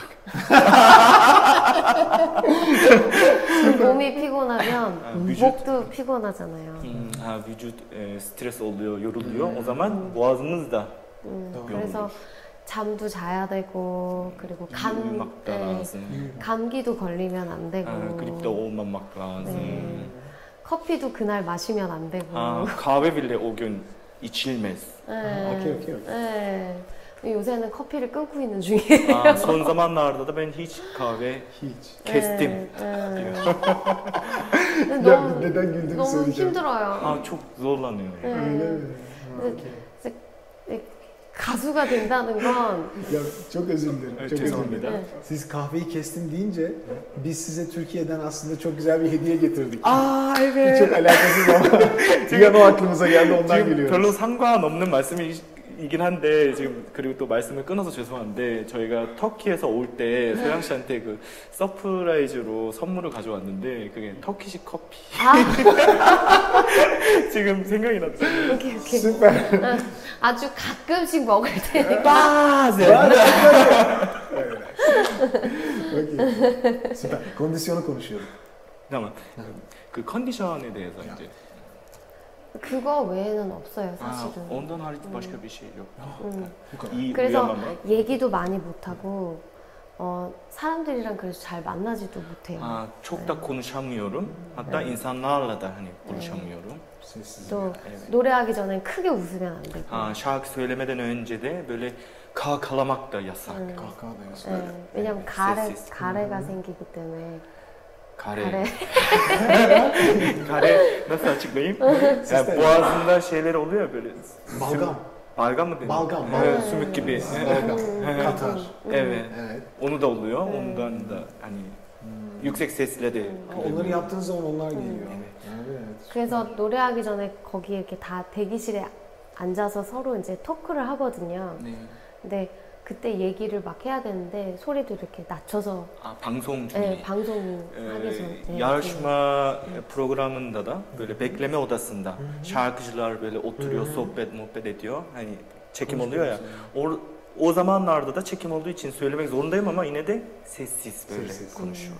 몸이 피곤하면 아, vücut, 목도 피곤하잖아요. 음, 아, vücut e, stres oluyor, yoruluyor. O zaman boğazımız da 음, 어, 그래서 잠도 자야 되고 그리고 감, uyumak da 네, lazım. 감기도 걸리면 안 되고 아, gripte olmamak lazım. 네. 커피도 그날 마시면 안 되고 아, kahve bile o gün içilmez. 네. okey, okey, okey. 네. 요새는 커피를 끊고 있는 중이에요. Aa, son zamanlarda da ben hiç kahve Hiç. kestim. 네, 네. diyor. 근데 Ya 너무, neden güldüğünü 너무 söyleyeceğim. 힘들어요. 아, çok zorlanıyor. 네. Öyle mi? Ha, 네. okey. 가수가 된다는 건 Ya çok özür dilerim. Evet, Çok özür 죄송합니다. dilerim. 네. Siz kahveyi kestim deyince biz size Türkiye'den aslında çok güzel bir hediye getirdik. 아, Çok evet. alakasız ama bir an o aklımıza geldi ondan 지금 gülüyoruz. 별로 상관없는 말씀이 이긴 한데 지금 그리고 또 말씀을 끊어서 죄송한데 저희가 터키에서 올 때 소영 씨한테 그 서프라이즈로 선물을 가져왔는데 그게 터키식 커피. 아, 지금 생각이 났어요. 오케이 오케이. Süper. 어, 아주 가끔씩 먹을 때. Bazen. Okey. Süper. Kondisyonu konuşuyorduk. Tamam. 그 컨디션에 대해서 야. 이제 그거 외에는 없어요 아, 사실은. ondan hariç başka bir şey yok. 음. Bu kadar. 이 그래서 위험한 말? 얘기도 많이 못하고 어, 사람들이랑 그래서 잘 만나지도 못해요. 아, çok da konuşamıyorum. Hatta insanlarla da hani buluşamıyorum. Sessiz. 또 Evet. 노래하기 전엔 크게 웃으면 안 되고. 아, şarkı söylemeden önce de böyle kahkalamak da yasak. 음. Kahkaha da yasak. 네, 왜냐면 가래, Sessiz. 가래가 생기기 때문에 Kare. 가래 Kare nasıl açıklayayım? Yani boğazında şeyler oluyor ya böyle. Balgam. Balgam mı deniyor? Balgam, Evet, balgam. sümük gibi. Balgam. Katar. Evet. Evet. Onu da oluyor. Ondan da hani yüksek sesle de. Onları yaptığınız zaman onlar geliyor. Evet. Evet. 그래서 노래하기 전에 거기 이렇게 다 대기실에 앉아서 서로 이제 토크를 하거든요. 네. 근데 그때 얘기를 막 해야 되는데 소리도 이렇게 낮춰서 아, 방송 중에. 네, 방송 Ee, 하기 전에 yarışma programında da böyle bekleme odasında şarkıcılar böyle oturuyor, Hı hı. sohbet muhabbet ediyor. Hani çekim oluyor ya. O, o zamanlarda da çekim olduğu için söylemek zorundayım ama yine de sessiz böyle Sessiz. konuşuyor.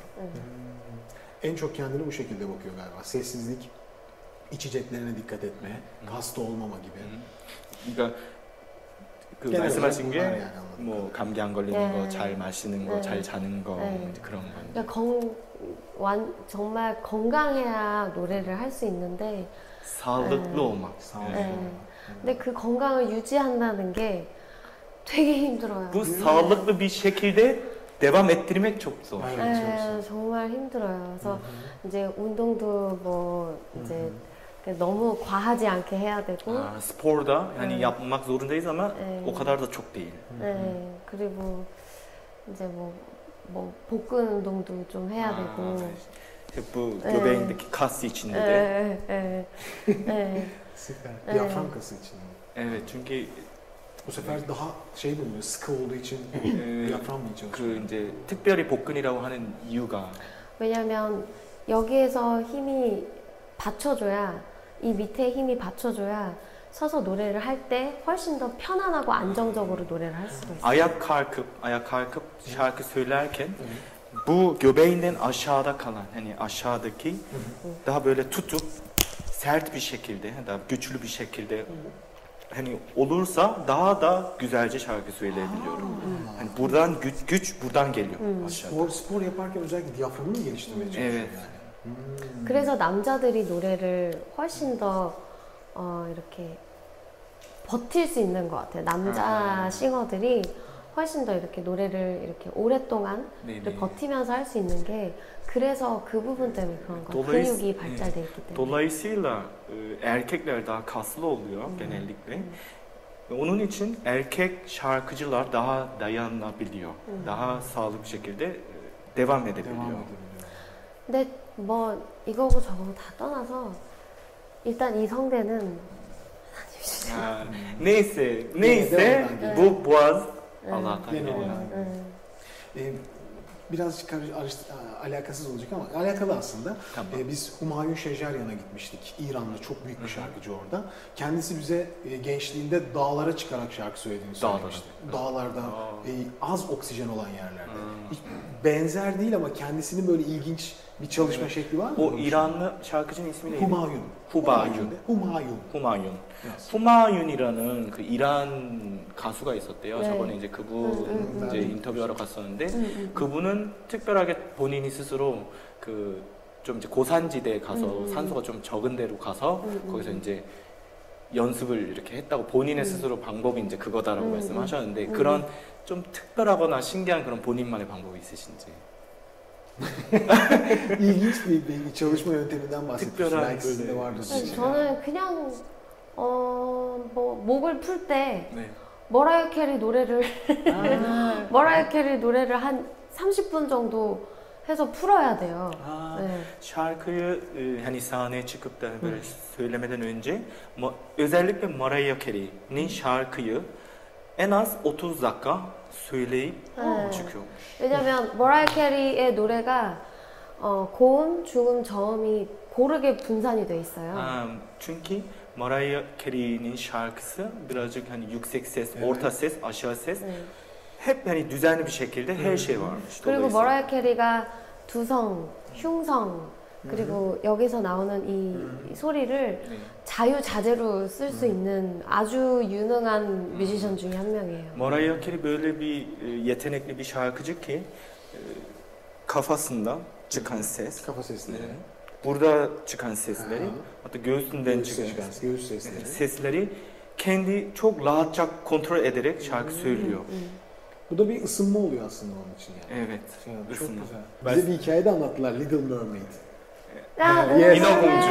En çok kendini bu şekilde bakıyor galiba. Sessizlik, içeceklerine dikkat etme, hasta olmama gibi. 그러니까 그 Genel 말씀하신 olarak 게 bunlar yani anladığım 뭐 감기 안 걸리는 네. 거, 잘 마시는 거, 네. 잘 자는 거 네. 이제 그런 거. 그러니까 건, 완, 정말 건강해야 노래를 할 수 있는데 Sağlıklı 네. olmak. Sağ ol. 네. 근데 그 건강을 유지한다는 게 되게 힘들어요. Bu sağlıklı bir şekilde devam ettirmek çok zor. Evet, 네, çok zor. 정말 힘들어요. 그래서 Hı hı. 이제 운동도 뭐 이제 Hı hı. 너무 과하지 않게 해야 되고, Aa, sporda yani Evet. yapmak zorundayız ama Evet. o kadar da çok değil. 네, 그리고 이제 뭐, 뭐 복근 운동도 좀 해야 아, 되고, hep bu Evet. göbeğindeki kas içinde de. 네, 네, 네. Süper. Evet. Diyafram kası için. Evet çünkü Bu sefer daha şey bulunuyor, sıkı olduğu için 에, diyafram mı çalışıyor? 그 이제 특별히 복근이라고 하는 이유가 왜냐면 여기에서 힘이 받쳐줘야, 이 밑에 힘이 받쳐줘야 서서 노래를 할 때 훨씬 더 편안하고 안정적으로 노래를 할 수가 있어요. ayak kalkıp ayak kalkıp şarkı söylerken bu göbeğinden aşağıda kalan hani aşağıdaki daha böyle tutup sert bir şekilde daha güçlü bir şekilde hani olursa daha da güzelce şarkı söyleyebiliyorum. Hani buradan güç, güç buradan geliyor aşağıda. Spor, spor yaparken özellikle diyaframını mı geliştirmeye çalışıyor Evet. yani? Hmm. 그래서 남자들이 노래를 훨씬 더 어, 이렇게 버틸 수 있는 것 같아요. 남자 아. 싱어들이 훨씬 더 이렇게 노래를 이렇게 오랫동안 네네. 버티면서 할 수 있는 게 그래서 그 부분 때문에 그런 거예요. Dolayıs- 근육이 발달돼 있기 때문에. Dolayısıyla e, erkekler daha kaslı oluyor genellikle. Ve onun için erkek şarkıcılar daha dayanabiliyor. Daha sağlıklı bir şekilde e, devam edebiliyor. Devam edebiliyor. 근데 뭐 이거고 저거고 다 떠나서 일단 이 성대는 Ha, neyse, neyse devam bu boğaz Evet. Allah'tan Genel geliyor. olarak. 음, Ee, birazcık karış, arış- a- alakasız olacak ama alakalı aslında. Tamam. Ee, biz Humayun Şeceryan'a gitmiştik. İranlı çok büyük bir şarkıcı orada. Kendisi bize e, gençliğinde dağlara çıkarak şarkı söylediğini Dağlara. söylemişti. Dağlarda, Aa. e, az oksijen olan yerlerde. Hmm. Hiç benzer değil ama kendisinin böyle ilginç bir çalışma Evet. şekli var mı? O İranlı şarkıcının ismi neydi? Humayun. Humayun. Humayun. Humayun. Yes. 후마윤이라는 그 이란 가수가 있었대요. 네. 저번에 이제 그분 음, 음, 이제 음. 인터뷰하러 갔었는데 음, 음. 그분은 특별하게 본인이 스스로 그 좀 이제 고산지대에 가서 음, 음. 산소가 좀 적은 데로 가서 음, 음. 거기서 이제 연습을 이렇게 했다고 본인의 음. 스스로 방법이 이제 그거다라고 음, 말씀하셨는데 음. 그런 좀 특별하거나 신기한 그런 본인만의 방법이 있으신지. İlginç bir, bir çalışma yönteminden bahsediyorsun. 특별한 Belki sizin de böyle- vardır. 네, 저는 그냥 어, 뭐 목을 풀 때 네. 머라이어 캐리 노래를 머라이어 캐리 노래를 한 삼십 분 정도 해서 풀어야 돼요. 아, 네. şarkıyı e, hani sahneye çıkıp da böyle söylemeden önce ma- özellikle Mariah Carey'nin şarkıyı en az otuz dakika söyleyip 네. çıkıyormuş. 왜냐면 머라이어 캐리의 노래가 어, 고음, 중음, 저음이 고르게 분산이 돼 있어요. Ha, çünkü Mariah Carey'nin şarkısı birazcık hani yüksek ses, Evet. orta ses, aşağı ses 네. hep hani düzenli bir şekilde her şey varmış. 그리고 Dolayısıyla- 머라이어 캐리가 두성, 흉성 그리고 여기서 나오는 이 소리를 네. 자유자재로 쓸 수 있는 아주 유능한 뮤지션 중에 한 명이에요. Mariah Carey böyle bir e, yetenekli bir şarkıcı ki e, kafasından çıkan ses, Kafa sesleri. e, burada çıkan sesleri, Aha. hatta göğsünden Göğüs çıkan çıkan göğüs sesleri. sesleri kendi çok rahatça kontrol ederek şarkı söylüyor. Bu da bir ısınma oluyor aslında onun için yani. Evet, Ya, çok ısınma. güzel. Ben- Bize bir hikaye de anlattılar Little Mermaid. 야, Yes. 인어공주.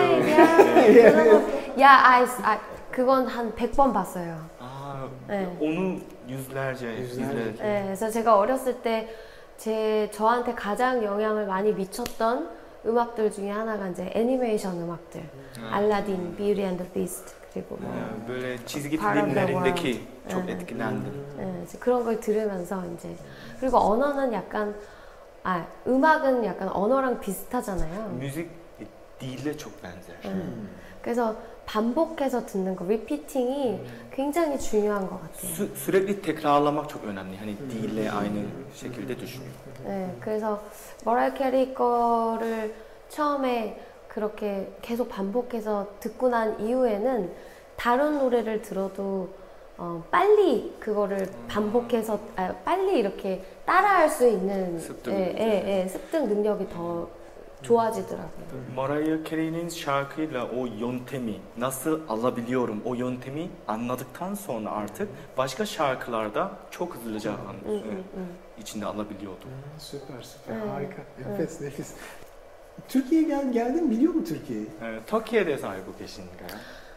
야, 아이, 아, 그건 한 백 번 봤어요. Aa, 네. onu yüzlerce, Yüzlerce. yüzlerce. 네, 그래서 제가 어렸을 때 제 저한테 가장 영향을 많이 미쳤던 음악들 중에 하나가 이제 애니메이션 음악들, Ha. 알라딘, Beauty and the Beast 그리고 뭐 Ee, Böyle çizgi Part of the filmlerindeki World. çok Evet. etkilendim. 네, 이제 그런 걸 들으면서 이제 그리고 언어는 약간 아 음악은 약간 언어랑 비슷하잖아요. Müzik dille çok benzer. 네. 그래서 반복해서 듣는 거, 리피팅이 굉장히 중요한 것 같아요. Sü- sürekli tekrarlamak çok önemli. Hani dille aynı şekilde düşünüyor. 네, 그래서 머라이어 캐리 거를 처음에 그렇게 계속 반복해서 듣고 난 이후에는 다른 노래를 들어도 어, 빨리 그거를 반복해서 아, 빨리 이렇게 따라할 수 있는 습득. 예, 예, 예, 습득 능력이 더 좋아지더라고요. Mariah Carey'nin şarkıyla o yöntemi nasıl alabiliyorum, o yöntemi anladıktan sonra artık başka şarkılarda çok hızlıca 응, an- 응, e, 응. içinde alabiliyordum. Ha, süper süper Evet. harika. Nefis nefis. Türkiye'ye gel, geldin biliyor mu Türkiye'yi? Ee, Türkiye'ye 대해서 알고 계신가요?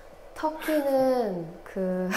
터키는 그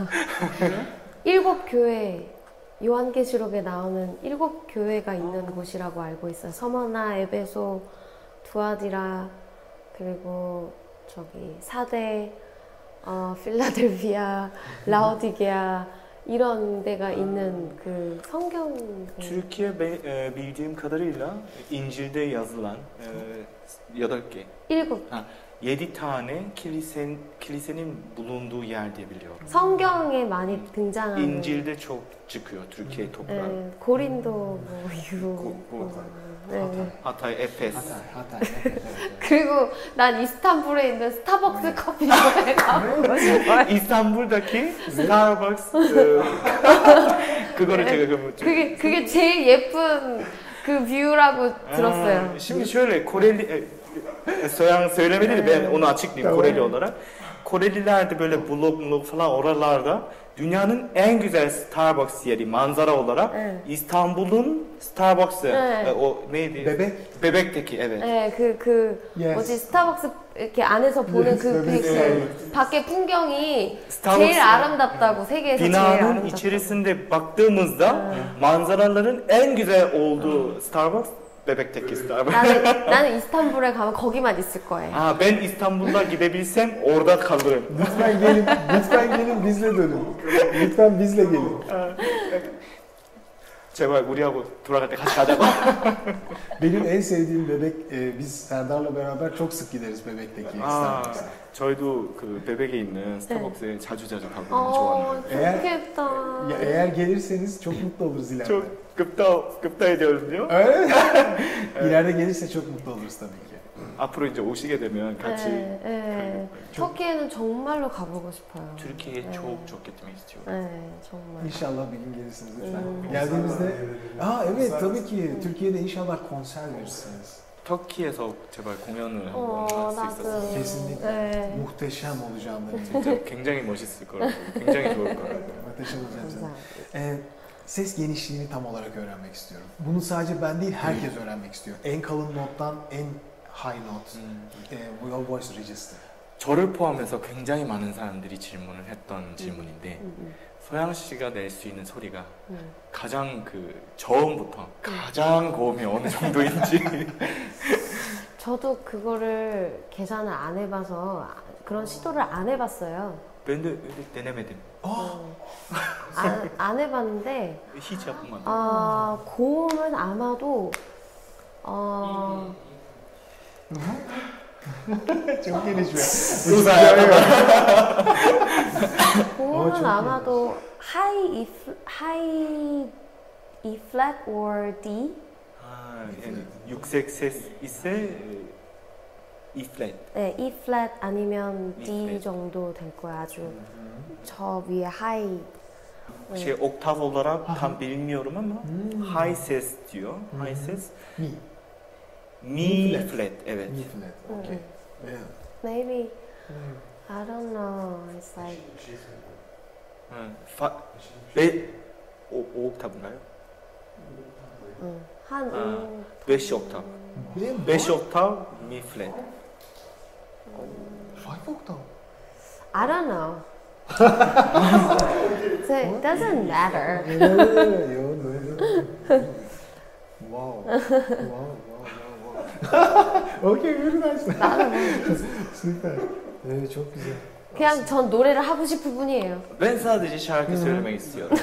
일곱 교회 요한계시록에 나오는 일곱 교회가 있는 곳이라고 알고 있어요. 서머나, 에베소, 두아디라 그리고 저기 사대, 어, 필라델피아, 라오디게아 이런 데가 있는 그 성경 Türkiye be- e, bildiğim kadarıyla İncil'de yazılan e, ya da ki 일곱 yedi tane kilisen, kilisenin bulunduğu yer diye biliyorum. 성경에 많이 등장하는 İncil'de çok çıkıyor Türkiye toprağı. 네, 고린도 뭐 이후 고- 고- 네, 네. Hatay, Efes. Hatay, Hatay. Evet, evet, evet. 그리고 난 이스탄불에 있는 스타벅스 커피숍에 가보고 싶어요. İstanbul'daki Starbucks e, 그거를 제가 그 그게 그게 제일 예쁜 그 뷰라고 들었어요. Aa, Şimdi şöyle Koreli e, Soyan söylemedi de ben onu açıklayayım Tamam. Koreli olarak. Koreliler de böyle blog blog falan oralarda dünyanın en güzel Starbucks yeri manzara olarak Evet. İstanbul'un Starbucks'ı Evet. e, o neydi? Bebek. Bebekteki evet. 네, 그, 그, Yes. 뭐지, 스타벅스 이렇게 안에서 보는 Yes, 그, 그, evet, 그 evet. 밖의 풍경이 스타벅스 제일 아름답다고, 세계에서 제일 Binanın 아름답다고. içerisinde baktığımızda manzaraların en güzel olduğu Starbucks Bebek'teki Starbucks. 나는, 나는 이스탄불에 가면 거기만 있을 거예요. Aa, ben İstanbul'a gidebilsem orada kalırım. Lütfen gelin, lütfen gelin bizle dönün. Lütfen bizle gelin. 제발 우리하고 돌아갈 때 같이 가자고. Benim en sevdiğim bebek, e, biz Serdar'la beraber çok sık gideriz bebekteki 아, Starbucks'a. 저희도 그 베백에 있는 스타벅스에 자주 자주 가거든요. 어, 좋아하는. Eğer- 좋겠다. Ya eğer gelirseniz çok mutlu oluruz ileride. 저 급다 급다 ediyoruz Öyle mi? İleride gelirse çok mutlu oluruz tabii ki. 앞으로 이제 오시게 되면 같이 네, 네. 터키에는 정말로 가보고 싶어요. Türkiye'ye 네. çok çok gitmek istiyorum. 네, 정말. İnşallah bir gün gelirsiniz lütfen. Hmm. Geldiğimizde, aa evet tabii ki Türkiye'de inşallah konser verirsiniz. 터키에서 제발 공연을 어, 한번 할 수 나도. 있었으면 Kesinlikle. 네. Muhteşem olacağından eminim. 진짜 굉장히 멋있을 거라고, 굉장히 좋을 거라고. Muhteşem olacağım canım. 감사합니다. Ee, ses genişliğini tam olarak öğrenmek istiyorum. Bunu sadece ben değil herkes öğrenmek istiyor. En kalın nottan en high note. 음, Ee, your voice register. 저를 포함해서 굉장히 많은 사람들이 질문을 했던 질문인데 음, 음. 소양 씨가 낼 수 있는 소리가 음. 가장 그 저음부터 가장 고음이 어느 정도인지 저도 그거를 계산을 안 해봐서 그런 시도를 안 해봤어요. 밴드 데네메든 음. 안, 안 해봤는데 히지 아프만 아, 고음은 아마도 어, 정신이 좋아. 고음은 어, 좀 아마도 high E, f- high E flat or D? 아, 육색 이세 E 플랫 네, E flat 아니면 E D flat. 정도 될 거야. 아주 저 위에 high. şey oktav olarak Aha. tam bilmiyorum ama Hmm. high ses diyor. Hı hı. High ses. Mi. Mi Mi flat. flat. Evet. Mi flat. Okay. Yeah. Maybe Hmm. I don't know. It's like Hı. Fa ve o, o oktav인가요? 응, 한 아, 음, beş oktav. Benim beş oktav mi flat. Five octave. I don't know. So it doesn't matter. Wow. Wow, wow, wow, wow. Okay, very nice. Süper. Evet, çok güzel. 그냥 전 노래를 하고 싶을 뿐이에요. Ben sadece şarkı söylemek istiyorum.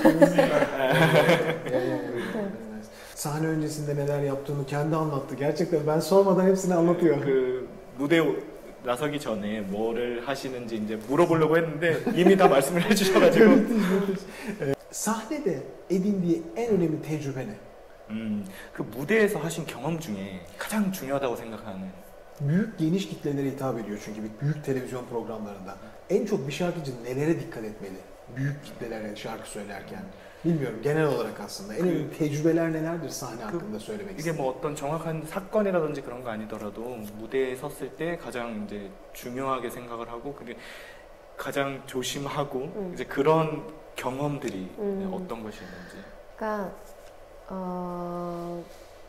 Sahne öncesinde neler yaptığını kendi anlattı. Gerçekten ben sormadan hepsini anlatıyor. 그 무대 나서기 전에 뭐를 하시는지 이제 물어보려고 했는데 이미 다 말씀을 해주셔가지고. Sahnede edindiği en önemli tecrübe ne? 음, 그 무대에서 하신 경험 중에 가장 중요하다고 생각하는. Büyük geniş kitlelere hitap ediyor çünkü bir büyük televizyon programlarında. En çok bir şarkıcı nelere dikkat etmeli? Büyük kitlelere şarkı söylerken. Bilmiyorum genel olarak aslında. En önemli tecrübeler nelerdir sahne hakkında söylemek 이게 istedim. 뭐 어떤 정확한 사건이라든지 그런 거 아니더라도 무대에 섰을 때 가장 이제 중요하게 생각을 하고 그리고 가장 조심하고 음. 이제 그런 경험들이 음. 어떤 것이 있는지. 그러니까 어,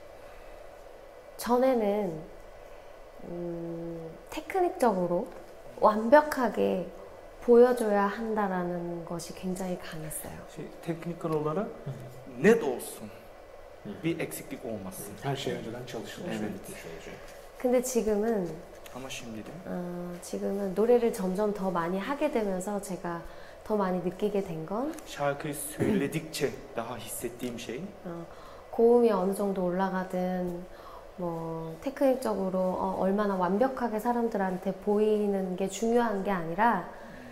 전에는 음, 테크닉적으로 완벽하게 보여줘야 한다라는 것이 굉장히 강했어요. Şey, teknikal olarak net olsun. Bir eksiklik olmasın. Her şey önceden çalışılmış Evet. ve bitmiş olacak. 근데 지금은 Ama şimdi de 어, 지금은 노래를 점점 더 많이 하게 되면서 제가 더 많이 느끼게 된 건 şarkıyı söyledikçe daha hissettiğim şey 어, 고음이 어느 정도 올라가든 뭐 테크닉적으로 어, 얼마나 완벽하게 사람들한테 보이는 게 중요한 게 아니라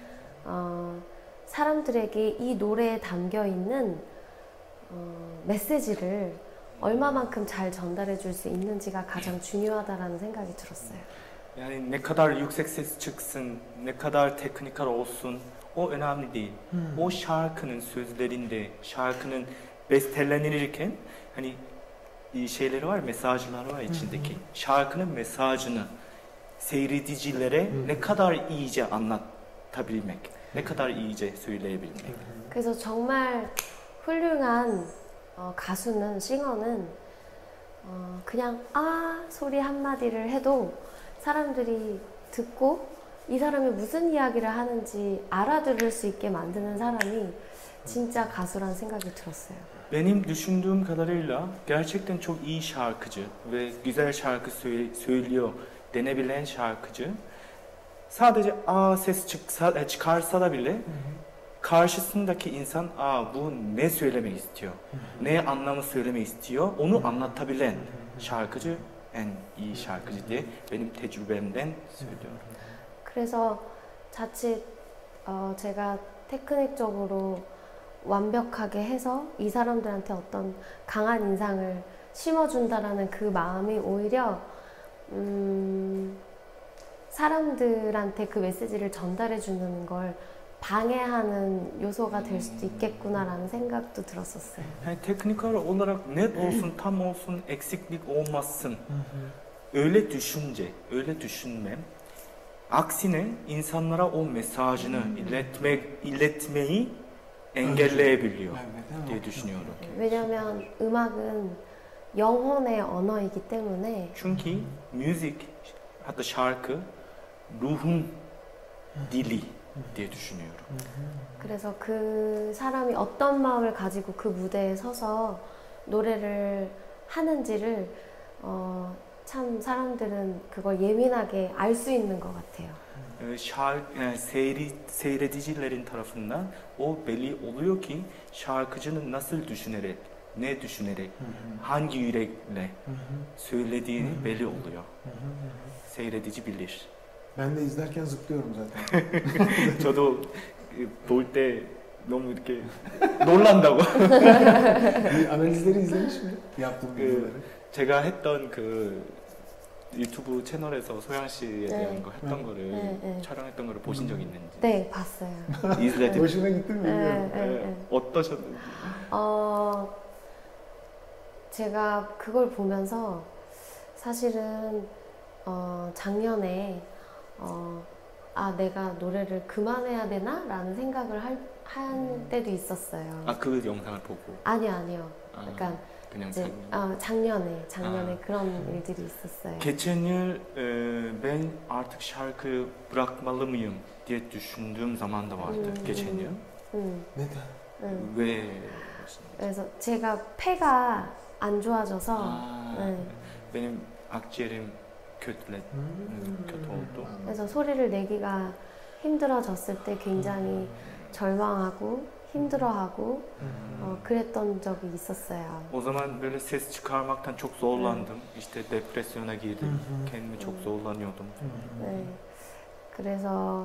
어, 사람들에게 이 노래에 담겨 있는 어, 메시지를 얼마만큼 잘 전달해 줄 수 있는지가 가장 중요하다라는 생각이 들었어요. yani ne kadar yüksek ses çıksın, ne kadar teknikal olsun o önemli değil. O şarkının sözlerinde, şarkının bestelenirken hani şeyleri var, mesajlar var içindeki. Şarkının mesajını seyredicilere ne kadar iyice anlatabilmek, ne kadar iyice söyleyebilmek. 그래서 정말 훌륭한 어, 가수는 싱어는 어, 그냥 아 소리 한마디를 해도 사람들이 듣고 이 saram이 무슨 이야기를 하는지 알아들을 수 있게 만드는 사람이 진짜 가수란 생각이 들었어요. Benim düşündüğüm kadarıyla gerçekten çok iyi şarkıcı ve güzel şarkı söyle- söylüyor denebilen şarkıcı sadece a ses çıksa, çıkarsa da bile karşısındaki insan aa bu ne söylemek istiyor, ne anlamı söylemek istiyor onu anlatabilen şarkıcı en iyi şarkıcı diye benim tecrübemden söylüyorum. 그래서 자칫 어, 제가 테크닉적으로 완벽하게 해서 이 사람들한테 어떤 강한 인상을 심어준다라는 그 마음이 오히려 음, 사람들한테 그 메시지를 전달해주는 걸 방해하는 요소가 될 수도 있겠구나라는 생각도 들었었어요. Yani teknikal olarak net olsun, tam olsun, eksiklik olmasın. Öyle düşünce, öyle düşünmem. Aksine insanlara o mesajını iletmek, iletmeyi engelleyebiliyor diye düşünüyorum. 왜냐하면 음악은 영혼의 언어이기 때문에 Çünkü müzik, hatta şarkı ruhun dili. diye düşünüyorum. 그래서 그 사람이 어떤 마음을 가지고 그 무대에 서서 노래를 하는지를 어, 참 사람들은 그걸 예민하게 알 수 있는 것 같아요. Şarkı, yani seyri, seyredicilerin tarafından o belli oluyor ki şarkıcının nasıl düşünerek, ne düşünerek, hangi yürekle söylediği belli oluyor. Seyredici bilir. Ben de izlerken zıplıyorum zaten. 저도 볼 때 너무 이렇게 놀란다고. Analizleri izlemiş mi? Yaptığım videoları. 제가 했던 그 유튜브 채널에서 소양 씨에 대한 네. 거 했던 네. 거를 네, 네. 촬영했던 거를 보신 적 있는지. 네, 봤어요. izledim. Hoşuna gitti mi bilmiyorum. 네, 네, 네. 어떠셨는지. 어, 제가 그걸 보면서 사실은 어, 작년에 어, 아 내가 노래를 그만해야 되나? 라는 생각을 할, 한 때도 있었어요. 아, 그 영상을 보고. 아니요, 아니요. 아, 약간 그냥 이제 작년. 아, 작년에 작년에 아. 그런 일들이 있었어요. Geçen yıl e, ben artık şarkı bırakmalı mıyım diye düşündüğüm zaman da vardı. Hmm. Geçen yıl. 음, Neden? 음. 왜? 그래서 제가 폐가 안 좋아져서 아, 네. benim akciğerim kötüle, Hmm. kötü oldu. 그래서 소리를 내기가 힘들어졌을 때 굉장히 절망하고 힘들어하고 어, 그랬던 적이 있었어요. O zaman böyle ses çıkarmaktan çok zorlandım. İşte depresyona girdim. Kendimi çok zorlanıyordum. 네. 그래서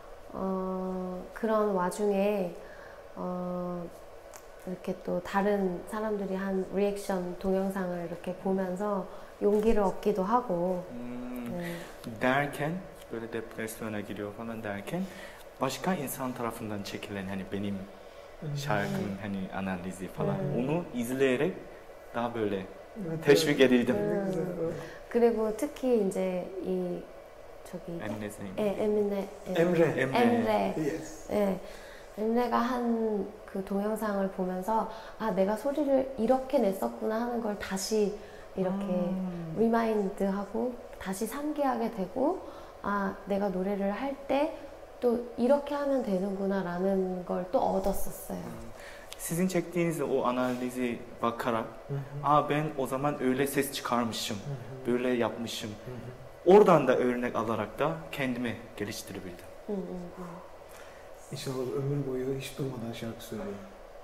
어, 그런 와중에 어, 이렇게 또 다른 사람들이 한 리액션 동영상을 이렇게 보면서 용기를 얻기도 하고 Hmm, 네. derken böyle depresyona giriyor falan derken başka insan tarafından çekilen hani benim şarkımın hani analizi falan Hmm. onu izleyerek daha böyle Evet, teşvik evet. edildim. Ne güzel. 그리고 특히 이제 이 저기 Emine Zeyn. 에, 에미네 에, Emre. Emre. 엠레 Yes. 예, 엠레가 한 그 동영상을 보면서 아 내가 소리를 이렇게 냈었구나 하는 걸 다시 이렇게 음. 리마인드하고 다시 상기하게 되고 아 내가 노래를 할 때 또 이렇게 하면 되는구나 라는 걸 또 얻었었어요. Sizin çektiğiniz o analizi bakarak aa ben o zaman öyle ses çıkarmışım, böyle yapmışım. Oradan da örnek alarak da kendimi geliştirebildim. 음, 음, 음. İnşallah ömür boyu hiç durmadan şarkı söyleyin.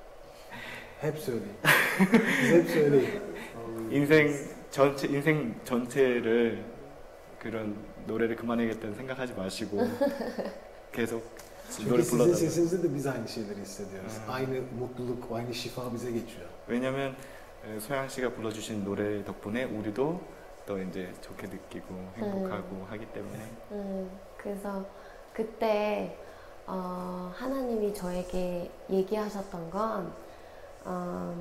Hep söyleyin. Siz hep söyleyin. 인생 전체 인생 전체를 그런 노래를 그만해야겠다는 생각하지 마시고 계속 Çünkü 노래 sizin 불러달라고. sesinizde de biz aynı şeyleri hissediyoruz. Hmm. Aynı mutluluk, aynı şifa bize geçiyor. 왜냐면 에, 소양 씨가 불러주신 노래 덕분에 우리도 또 이제 좋게 느끼고 행복하고 하기 때문에 음, 그래서 그때 어, 하나님이 저에게 얘기하셨던 건 어,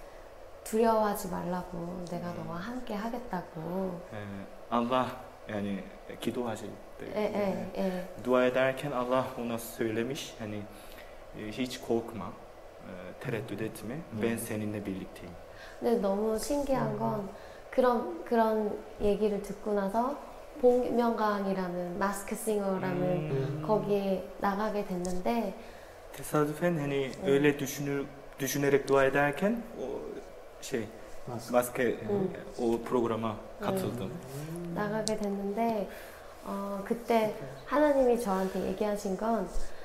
두려워하지 말라고 내가 너와 함께 하겠다고. 에, Allah yani 기도하실 때 예, 예, 예. dua ederken Allah ona söylemiş hani e, hiç korkma, e, tereddüt etme, ben seninle birlikteyim. 근데 너무 신기한 건 그런 그런 얘기를 듣고 나서 복면가왕이라는 마스크 싱어라는 음. 거기에 나가게 됐는데 Tesadüfen hani Evet. öyle düşünür düşünerek dua ederken o şey Nasıl? maske 음. o programa katıldım. 나가게 됐는데 어, 그때 하나님이 저한테 얘기하신 건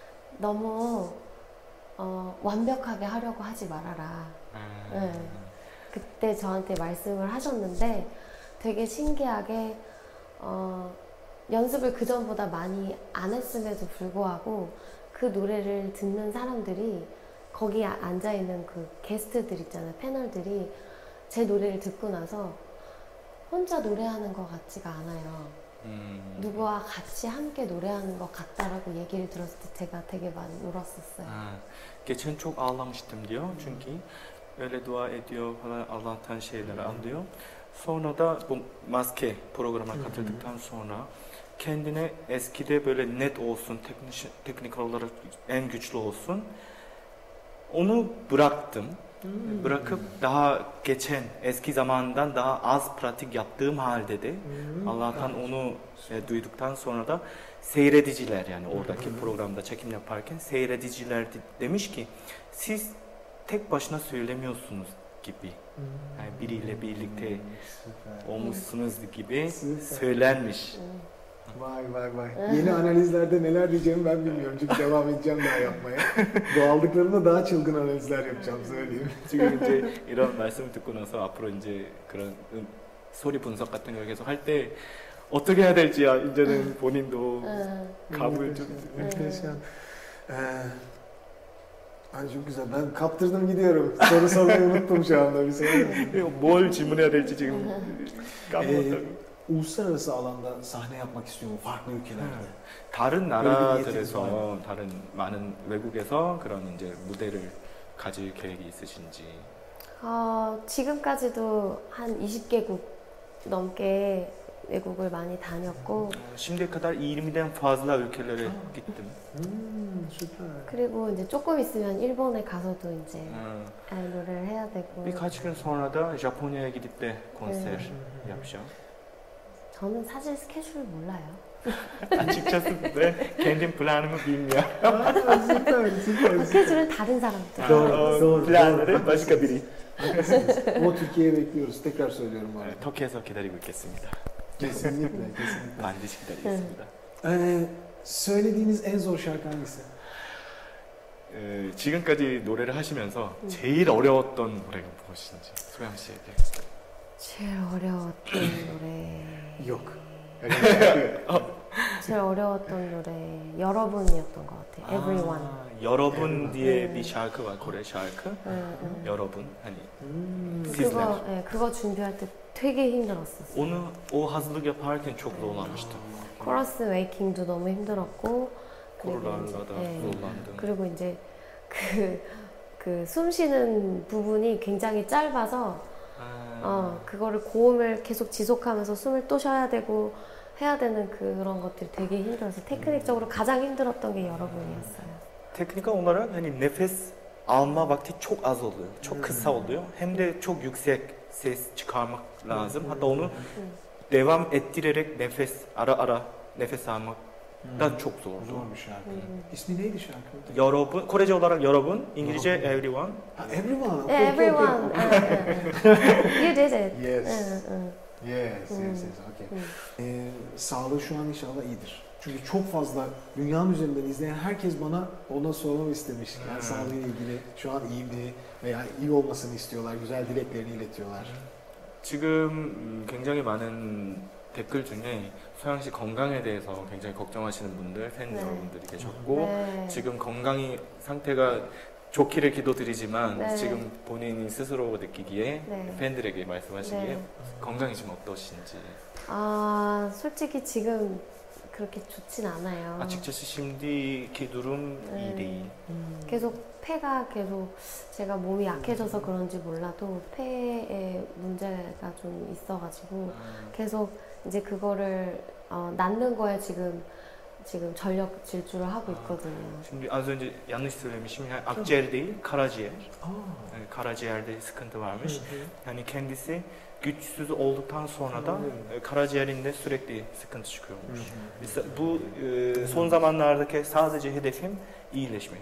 너무 어, 완벽하게 하려고 하지 말아라. 아, 네. 그때 저한테 말씀을 하셨는데 되게 신기하게 어, 연습을 그 전보다 많이 안 했음에도 불구하고 그 노래를 듣는 사람들이 거기에 앉아 있는 그 게스트들 있잖아요, 패널들이 제 노래를 듣고 나서 혼자 노래하는 것 같지가 않아요. 음. 누구와 같이 함께 노래하는 것 같다라고 얘기를 들었을 때 제가 되게 많이 울었었어요. Ha, geçen çok ağlamıştım diyor çünkü öyle dua ediyor falan Allah'tan şeyler alıyor. Sonra da bu maske programa katıldıktan sonra kendine eskide böyle net olsun, teknik, teknik olarak en güçlü olsun. Onu bıraktım. Hmm. Bırakıp daha geçen eski zamandan daha az pratik yaptığım halde de Hmm. Allah'tan onu e, duyduktan sonra da seyrediciler yani oradaki Hmm. programda çekim yaparken seyrediciler de- demiş ki siz tek başına söylemiyorsunuz gibi. Yani biriyle birlikte Süper. olmuşsunuz gibi Süper. söylenmiş. Vay vay vay. Yeni analizlerde neler diyeceğimi ben bilmiyorum çünkü devam edeceğim daha yapmaya. Bu aldıklarımda daha çılgın analizler yapacağım söyleyeyim. 지금 이제 이런 말씀을 듣고 나서 앞으로 이제 그런 음, 소리 분석 같은 걸 계속 할 때 어떻게 해야 될지 아, 이제는 본인도 응. 감을 좀 Muhteşem. Ee, ay çok güzel. Ben kaptırdım gidiyorum. Soru sormayı unuttum şu anda bir saniye. 뭘 질문해야 될지 지금 까먹었다고. Uluslararası alanda sahne yapmak istiyor mu? Farklı ülkelerde. 다른 그런 게 나라들에서 다른 많은 외국에서 그런 이제 무대를 가질 계획이 있으신지. 어, 지금까지도 한 이십 개국 넘게 외국을 많이 다녔고 Şimdiye kadar yirmiden fazla ülkelere gittim. Hmm, süper. 그리고 이제 조금 있으면 일본에 가서도 이제 음, 아, 노래를 해야 되고 birkaç gün sonra da Japonya'ya gidip de konser 네. yapacağım. 저는 사실 스케줄 몰라요. Açıkçası ben kendim planımı bilmiyorum. Aa, süper, süper. 스케줄은 다른 사람들. Doğru, O doğru, planları doğru. başka biri. Haklısınız. Ama Türkiye'ye bekliyoruz. Tekrar söylüyorum bu arada. 네, 터키에서 기다리고 있겠습니다. Kesinlikle, kesinlikle. 반드시 기다리겠습니다. Ee, söylediğiniz en zor şarkı hangisi? 에, 지금까지 노래를 하시면서 제일 어려웠던 노래가 무엇인지 소영 씨에게. 제일 어려웠던 노래. Yok. Öyle bir şarkı. 제일 어려웠던 노래 여러분이었던 것 같아요. Everyone. 아, 여러분 뒤에 음. bir şarkı var, Kore şarkı. 응, 응. 여러분. hani Hmm. Sizler. 그거 예, 그거 준비할 때 되게 힘들었었어요. onu o hazırlık yaparken çok zorlanmıştım. 코러스 웨이킹도 너무 힘들었고 그리고 이제, 코로나다 예. zorlandım. 그리고 이제 그 그 숨 쉬는 부분이 굉장히 짧아서 아, 어 그거를 고음을 계속 지속하면서 숨을 또 쉬어야 되고 해야 되는 그런 것들이 되게 힘들어서 테크닉적으로 가장 힘들었던 게 여러분이었어요. teknik olarak hani nefes alma vakti çok az oluyor. Çok kısa oluyor. Hem de çok yüksek ses çıkarmak lazım. Hatta onu devam ettirerek nefes ara ara nefes almak da çok zor. Zor bir şarkı. İsmi neydi şarkı? 여러분, Korece olarak 여러분, İngilizce everyone. Ha, Everyone. Okay, 네, okay, everyone. okay. 응, 응. You did it. Yes. 응, 응. Yes, Hmm. yes, yes. Okay. Hmm. Ee, sağlığı şu an inşallah iyidir. Çünkü çok fazla dünyanın üzerinden izleyen herkes bana ona sormamı istemiş. Yani Hmm. sağlığıyla ilgili şu an iyi mi veya iyi olmasını istiyorlar, güzel dileklerini iletiyorlar. 지금 음, 굉장히 많은 댓글 중에 소영 씨 건강에 대해서 굉장히 걱정하시는 분들, 팬 네. 여러분들이 계셨고 네. 지금 건강이 상태가 좋기를 기도드리지만 네. 지금 본인이 스스로 느끼기에 네. 팬들에게 말씀하시기에 네. 건강이 좀 어떠신지. 아, 솔직히 지금 그렇게 좋진 않아요. Açıkçası şimdiki durum iyi 네. değil. 계속 폐가 계속 제가 몸이 약해져서 그런지 몰라도 폐에 문제가 좀 있어가지고 계속 이제 그거를 어, 낫는 거에 지금 지금 전력 질주를 하고 있거든요. Şimdi az önce yanlış söylemişim. Yani akciğer değil, karaciğer. Aa. Yani karaciğerde sıkıntı varmış. Yani kendisi güçsüz olduktan sonra da e, karaciğerinde sürekli sıkıntı çıkıyormuş. Biz- Bu e, son zamanlardaki sadece hedefim iyileşmek.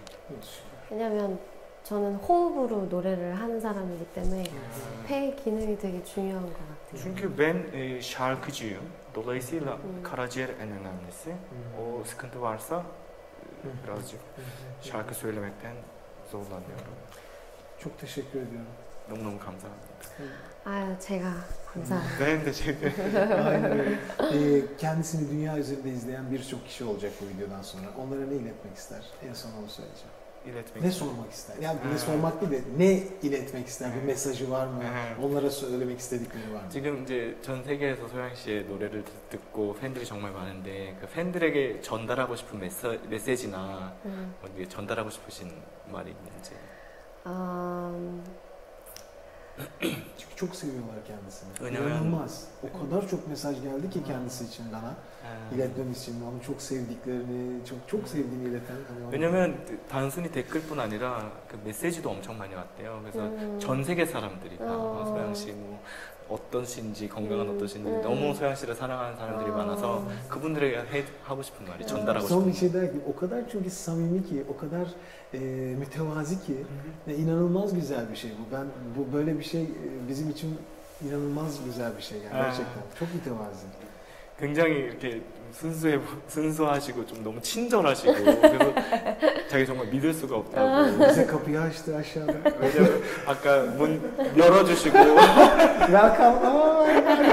왜냐면 저는 호흡으로 노래를 하는 사람이기 때문에 폐 기능이 되게 중요한 것 같아요. Çünkü ben e, şarkıcıyım. Dolayısıyla Hmm. karaciğer en önemlisi. O sıkıntı varsa e, birazcık şarkı söylemekten zorlanıyorum. Çok teşekkür ediyorum. 너무너무 감사합니다. 아유, 제가 감사합니다. Ben teşekkür Aynen öyle. Ee, kendisini dünya üzerinde izleyen birçok kişi olacak bu videodan sonra. Onlara ne iletmek ister? En son onu söyleyeceğim. iletmek Ne sormak ister? Yani ne Ha. sormak değil de ne iletmek ister? Bir mesajı var mı? Ha. Onlara söylemek istedikleri var mı? 지금 이제 전 세계에서 소영 씨의 노래를 듣- 듣고 팬들이 정말 많은데 그 팬들에게 전달하고 싶은 메시, 메시지나 음, 어디 전달하고 싶으신 말이 있는지. 음, Çünkü çok seviyorlar kendisini. Önemli. İnanılmaz. O kadar çok mesaj geldi ki kendisi için bana. 아, İletmem için onu çok sevdiklerini, çok çok sevdiğini ileten. Hani onu- 왜냐면 단순히 댓글뿐 아니라 그 메시지도 엄청 많이 왔대요. 그래서 음. 전 세계 사람들이 다 어. 소양 씨뭐 어떤 씨인지 건강한 음. 어떠신지 음. 너무 소양 씨를 사랑하는 사람들이 어. 많아서 그분들에게 해, 하고 싶은 말이 전달하고 Son 싶은 bir şey der ki o kadar çünkü samimi ki, o kadar e, mütevazi ki ve inanılmaz güzel bir şey bu. Ben bu böyle bir şey e, bizim için inanılmaz güzel bir şey yani Ha. gerçekten. Çok mütevazi. 굉장히 이렇게 순수해 순수하시고 좀 너무 친절하시고 그래서 자기 정말 믿을 수가 없다고. Bize kapıyı açtı aşağıda. 왜냐면 아까 문 열어주시고 Welcome. Aa,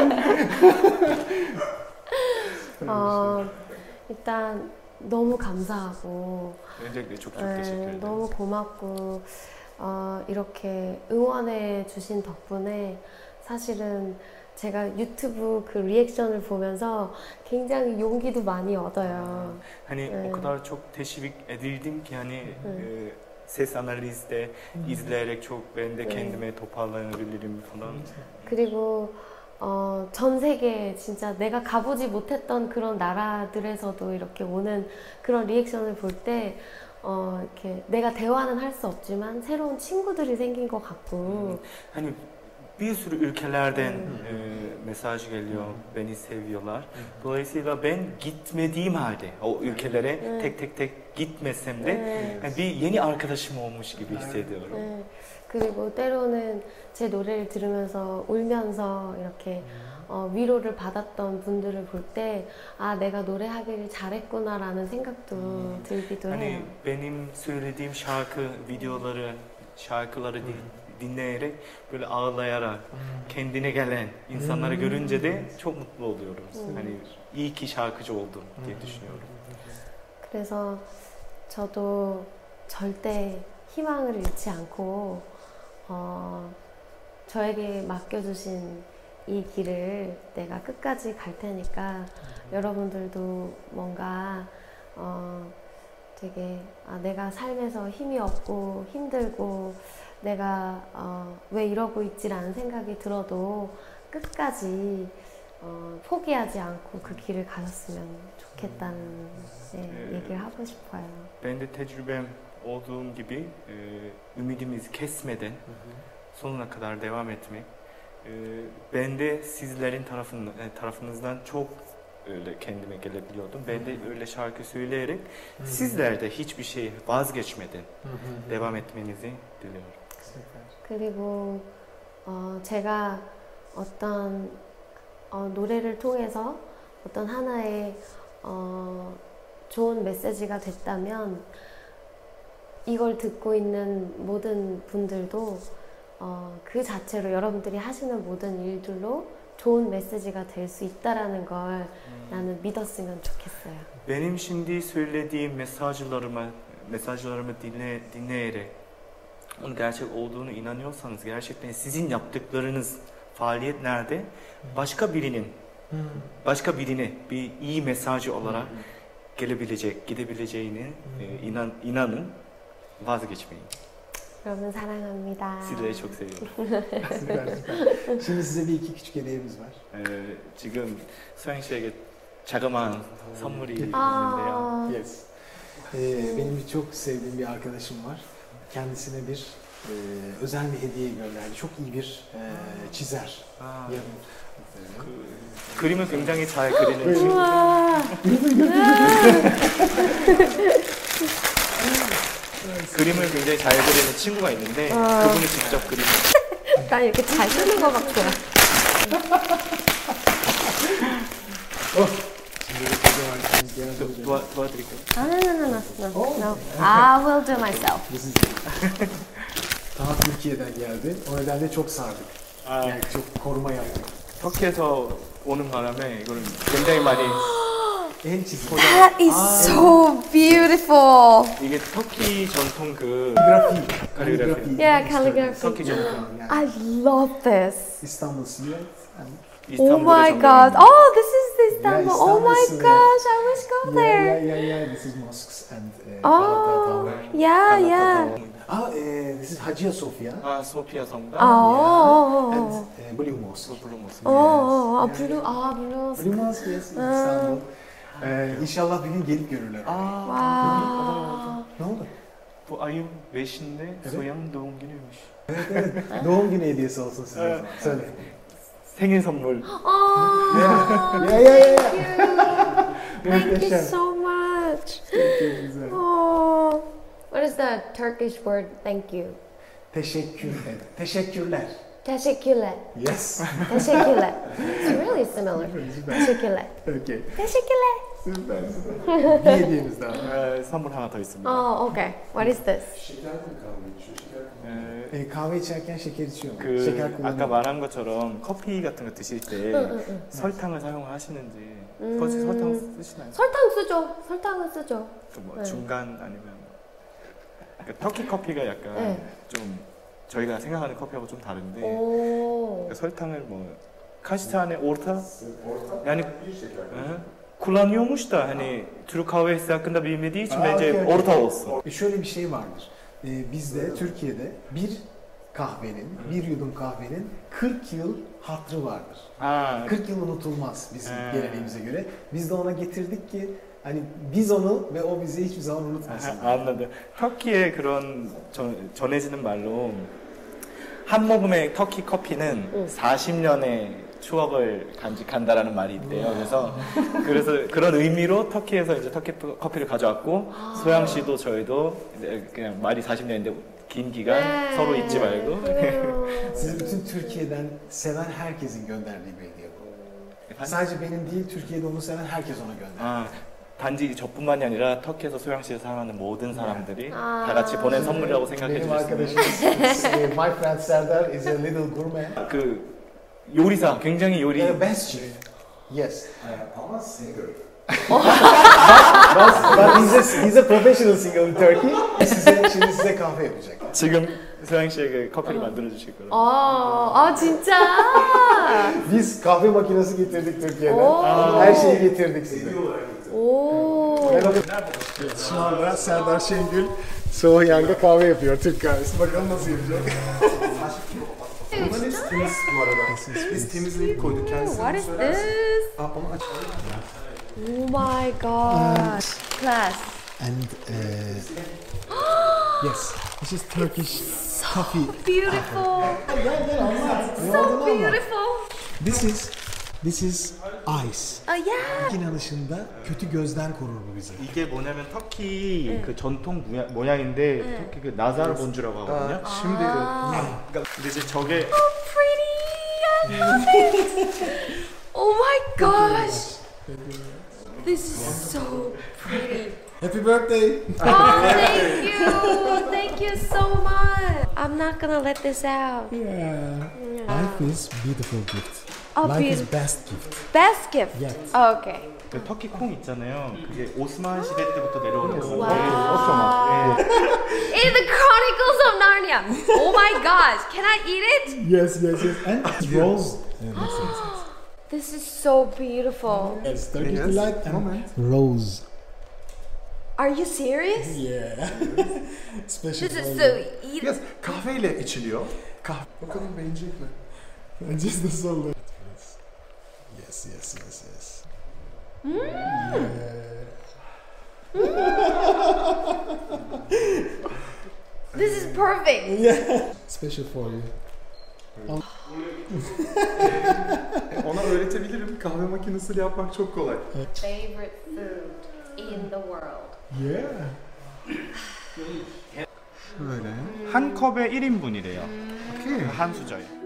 어, 일단 너무 감사하고 굉장히 족족 네, 계시길래 너무 고맙고 어, 이렇게 응원해 주신 덕분에 사실은 제가 유튜브 그 리액션을 보면서 굉장히 용기도 많이 얻어요. Hani Evet. o kadar çok teşvik edildim ki hani Evet. e, ses analizde izleyerek çok ben de Evet. kendime toparlanabilirim falan. 그리고 어, 전 세계 진짜 내가 가보지 못했던 그런 나라들에서도 이렇게 오는 그런 리액션을 볼 때 어, 이렇게 내가 대화는 할 수 없지만 새로운 친구들이 생긴 것 같고 Hani bir sürü ülkelerden Evet. e, mesaj geliyor, beni seviyorlar. Dolayısıyla ben gitmediğim halde o ülkelere Evet. tek tek tek gitmesem de 네. yani bir yeni arkadaşım olmuş gibi hissediyorum. 네. 그리고 때로는 제 노래를 들으면서 울면서 이렇게 어, 위로를 받았던 분들을 볼 때 아 내가 노래하기를 잘했구나라는 생각도 들기도 Hani 해요. benim söylediğim şarkı videoları, şarkıları di- dinleyerek böyle ağlayarak kendine gelen insanları görünce de çok mutlu oluyorum. Hmm. Hani iyi ki şarkıcı oldum diye düşünüyorum. 그래서 저도 절대 희망을 잃지 않고 어, 저에게 맡겨주신 이 길을 내가 끝까지 갈 테니까 여러분들도 뭔가 어, 되게 아, 내가 삶에서 힘이 없고 힘들고 내가 어, 왜 이러고 있지라는 생각이 들어도 끝까지 어, 포기하지 않고 그 길을 가셨으면 좋겠다는 네, 얘기를 하고 싶어요. Ben de tecrübem olduğum gibi e, ümidimizi kesmeden sonuna kadar devam etmek. E, ben de sizlerin tarafın, e, tarafınızdan çok öyle kendime gelebiliyordum. Ben de öyle şarkı söyleyerek sizler de hiçbir şey vazgeçmeden devam etmenizi diliyorum. 그리고 어, 제가 어떤 어, 노래를 통해서 어떤 하나의 어, 좋은 메시지가 됐다면 이걸 듣고 있는 모든 분들도 어, 그 자체로 여러분들이 하시는 모든 일들로 좋은 메시지가 될 수 있다라는 걸 나는 믿었으면 좋겠어요. Benim şimdi söylediğim mesajlarımı, mesajlarımı dinle, dinleyerek onun gerçek olduğunu inanıyorsanız gerçekten sizin yaptıklarınız faaliyetlerde başka birinin, başka birine bir iyi mesajı olarak gelebilecek, gidebileceğini e, inan, inanın, vazgeçmeyin. 여러분 사랑합니다. Sizleri çok seviyorum. Süper süper. Şimdi size bir iki küçük hediyemiz var. 에, 지금 소영 씨에게 자그마한 선물이 있는데요. 아, Yes. Ee, benim çok sevdiğim bir arkadaşım var. Kendisine bir e, özel bir hediye gönderdi. Çok iyi bir e, çizer. 아, Yarın. 그, 그림을 굉장히 잘 그리는 친구. 우와. 그림을 굉장히 잘 그리는 친구가 있는데 아. 그분이 직접 그린. 난 이렇게 잘 쓰는 것 같아요. Şimdi de kocaman kendisi yardım 도, edecek. 도와, 도와드릴까요? 아, no, no, no, no, no, Oh. no. I will do myself. Bu sizin. Daha Türkiye'den geldi. O nedenle çok sardık. 아, Yani çok koruma yaptık. 터키에서 오는 바람에 이거를 굉장히 많이 El çizimi. That is so beautiful. 이게 터키 전통 그 Kaligrafi. Kaligrafi. Yeah, calligraphy. 터키 전통 Yani I love this. İstanbul Silüet. Yani Oh 이스탄불의 my 전통. god. Oh, this is the Istanbul. Yeah, Oh my Istanbul, gosh, I wish go yeah, there. yeah, yeah, yeah. This is mosques and uh, Oh, Galata Tower. yeah, 갈라타 yeah. 타워. Ah, eh, this is Hagia Sophia. 아, 소피아 성당. 아, And 어, eh, Blue Mosque. 블루 모습. 어, 어, 아, 블루, 아, 블루. Blue Mosque, yes, İstanbul. Ee, inşallah bir gün gelip görürler. 아, 와. Ne oldu? bu ayın beşinde Evet. Soyan'ın doğum günüymüş. Evet, evet. Doğum günü hediyesi olsun size. Evet. Söyle. 생일 선물. 아, Ya ya ya. thank you Muhteşem. so much. Çok güzel. Oh, what is the Turkish word? Thank you. Teşekkür ederim. Teşekkürler. Teşekkürler. Yes. Teşekkürler. It's really similar. Süper. Teşekkürler. Okay. Teşekkürler. Süper süper. Bir hediyemiz daha var. 에, 선물 하나 더 있습니다. Oh, okay. What is this? Şeker mi kahve içiyor? Şeker mi? 에, Ee, kahve içerken şeker içiyor mu? 그 şeker 아까 kullanıyor. 말한 것처럼 커피 같은 거 드실 때 응, 응, 응. 설탕을 사용하시는지 음. 혹시 설탕 쓰시나요? 설탕 쓰죠. 설탕은 쓰죠. 그뭐 네. 중간 아니면 그러니까 터키 커피가 약간 네. 좀 저희가 생각하는 커피하고 좀 다른데 오. 그러니까 설탕을 뭐 kaç orta Orta yani bir şeker. ı, kullanıyormuş da hani Türk kahvesi hakkında bilmediği için Aa, bence okey, okey. orta olsun. E şöyle bir şey vardır. Ee, bizde Türkiye'de bir kahvenin, bir yudum kahvenin kırk yıl hatırı vardır. 아, kırk yıl unutulmaz bizim Ee. geleneğimize göre. Biz de ona getirdik ki hani biz onu ve o bizi hiçbir zaman unutmasın. 아, 안나도 터키의 그런 전, 전해지는 말로 한 모금의 터키 커피는 응. 사십 년의 추억을 간직한다라는 말이 있대요. 그래서 그래서 그런 의미로 터키에서 이제 터키 커피를 가져왔고 소양 씨도 저희도 이제 그냥 말이 사십 년인데 긴 기간 네. 서로 잊지 말고 음. Sizi bütün Türkiye'den seven herkesin gönderdiği bir hediye bu. Sadece benim değil, Türkiye'de onu seven herkes ona gönderdi. 아, 단지 저뿐만이 아니라 터키에서 소양 씨를 사랑하는 모든 사람들이 아. 다 같이 보낸 선물이라고 생각해 Benim 주셨으면 arkadaşım, my friend Serdar is a little gourmet. 그 요리사 굉장히 요리 The best chef. Yes. Ama singer. But, but he's, a, he's a professional singer in Turkey. Size, şimdi size kahve yapacak. 지금 소양 씨에게 커피를 만들어 주실 거라고. 아, 아 진짜? Biz kahve makinesi getirdik Türkiye'den. Oo. Her şeyi getirdik size. 오. Şu anda Serdar Şengül Soğuyan'da kahve yapıyor. Türk kahvesi. Bakalım nasıl yapacak. Bunların hepsi temiz bu arada. Biz temizleyip koyduk. Kendisi What is söylersin. this? Aa, onu aç. Oh my god. Class. And uh, yes, this is Turkish coffee. Beautiful. Gel gel anlat. Ne So olduğunu anlat. beautiful. This is this is ice. Oh yeah. İnanışında kötü gözden korur bu bizi. 이게 뭐냐면 터키 그 전통 모양, 모양인데 터키 그 나사르 본주라고 하거든요. Şimdi 그러니까 근데 이제 저게 So pretty. I love it. Oh my gosh. This is so pretty. Happy birthday. Oh, thank you. Thank you so much. I'm not gonna let this out. Yeah. Life is beautiful gift. Oh, Life is beautiful. best gift. Best gift. Yes. Okay. 그 터키 콩 있잖아요. 그게 오스만 시대 때부터 내려오는 건데. Wow. In the Chronicles of Narnia. Oh my gosh. Can I eat it? Yes, yes, yes. And it's rose. Evet, yes, yes, yes. This is so beautiful. Yes, Turkish Yes, delight and moment. rose. Are you serious? Yeah. Special This is rose. so eat. Yes, kahveyle içiliyor. Kahve. Bakalım beğenecek mi? Just the solo. Yes, yes, yes, yes. Yeah. This is perfect. Yeah. Special for you. Ona öğretebilirim. Kahve makinesiyle yapmak çok kolay. Favorite food in the world. Yeah. Böyle. 한 컵에 일 인분이래요. Okay. 한 수저에.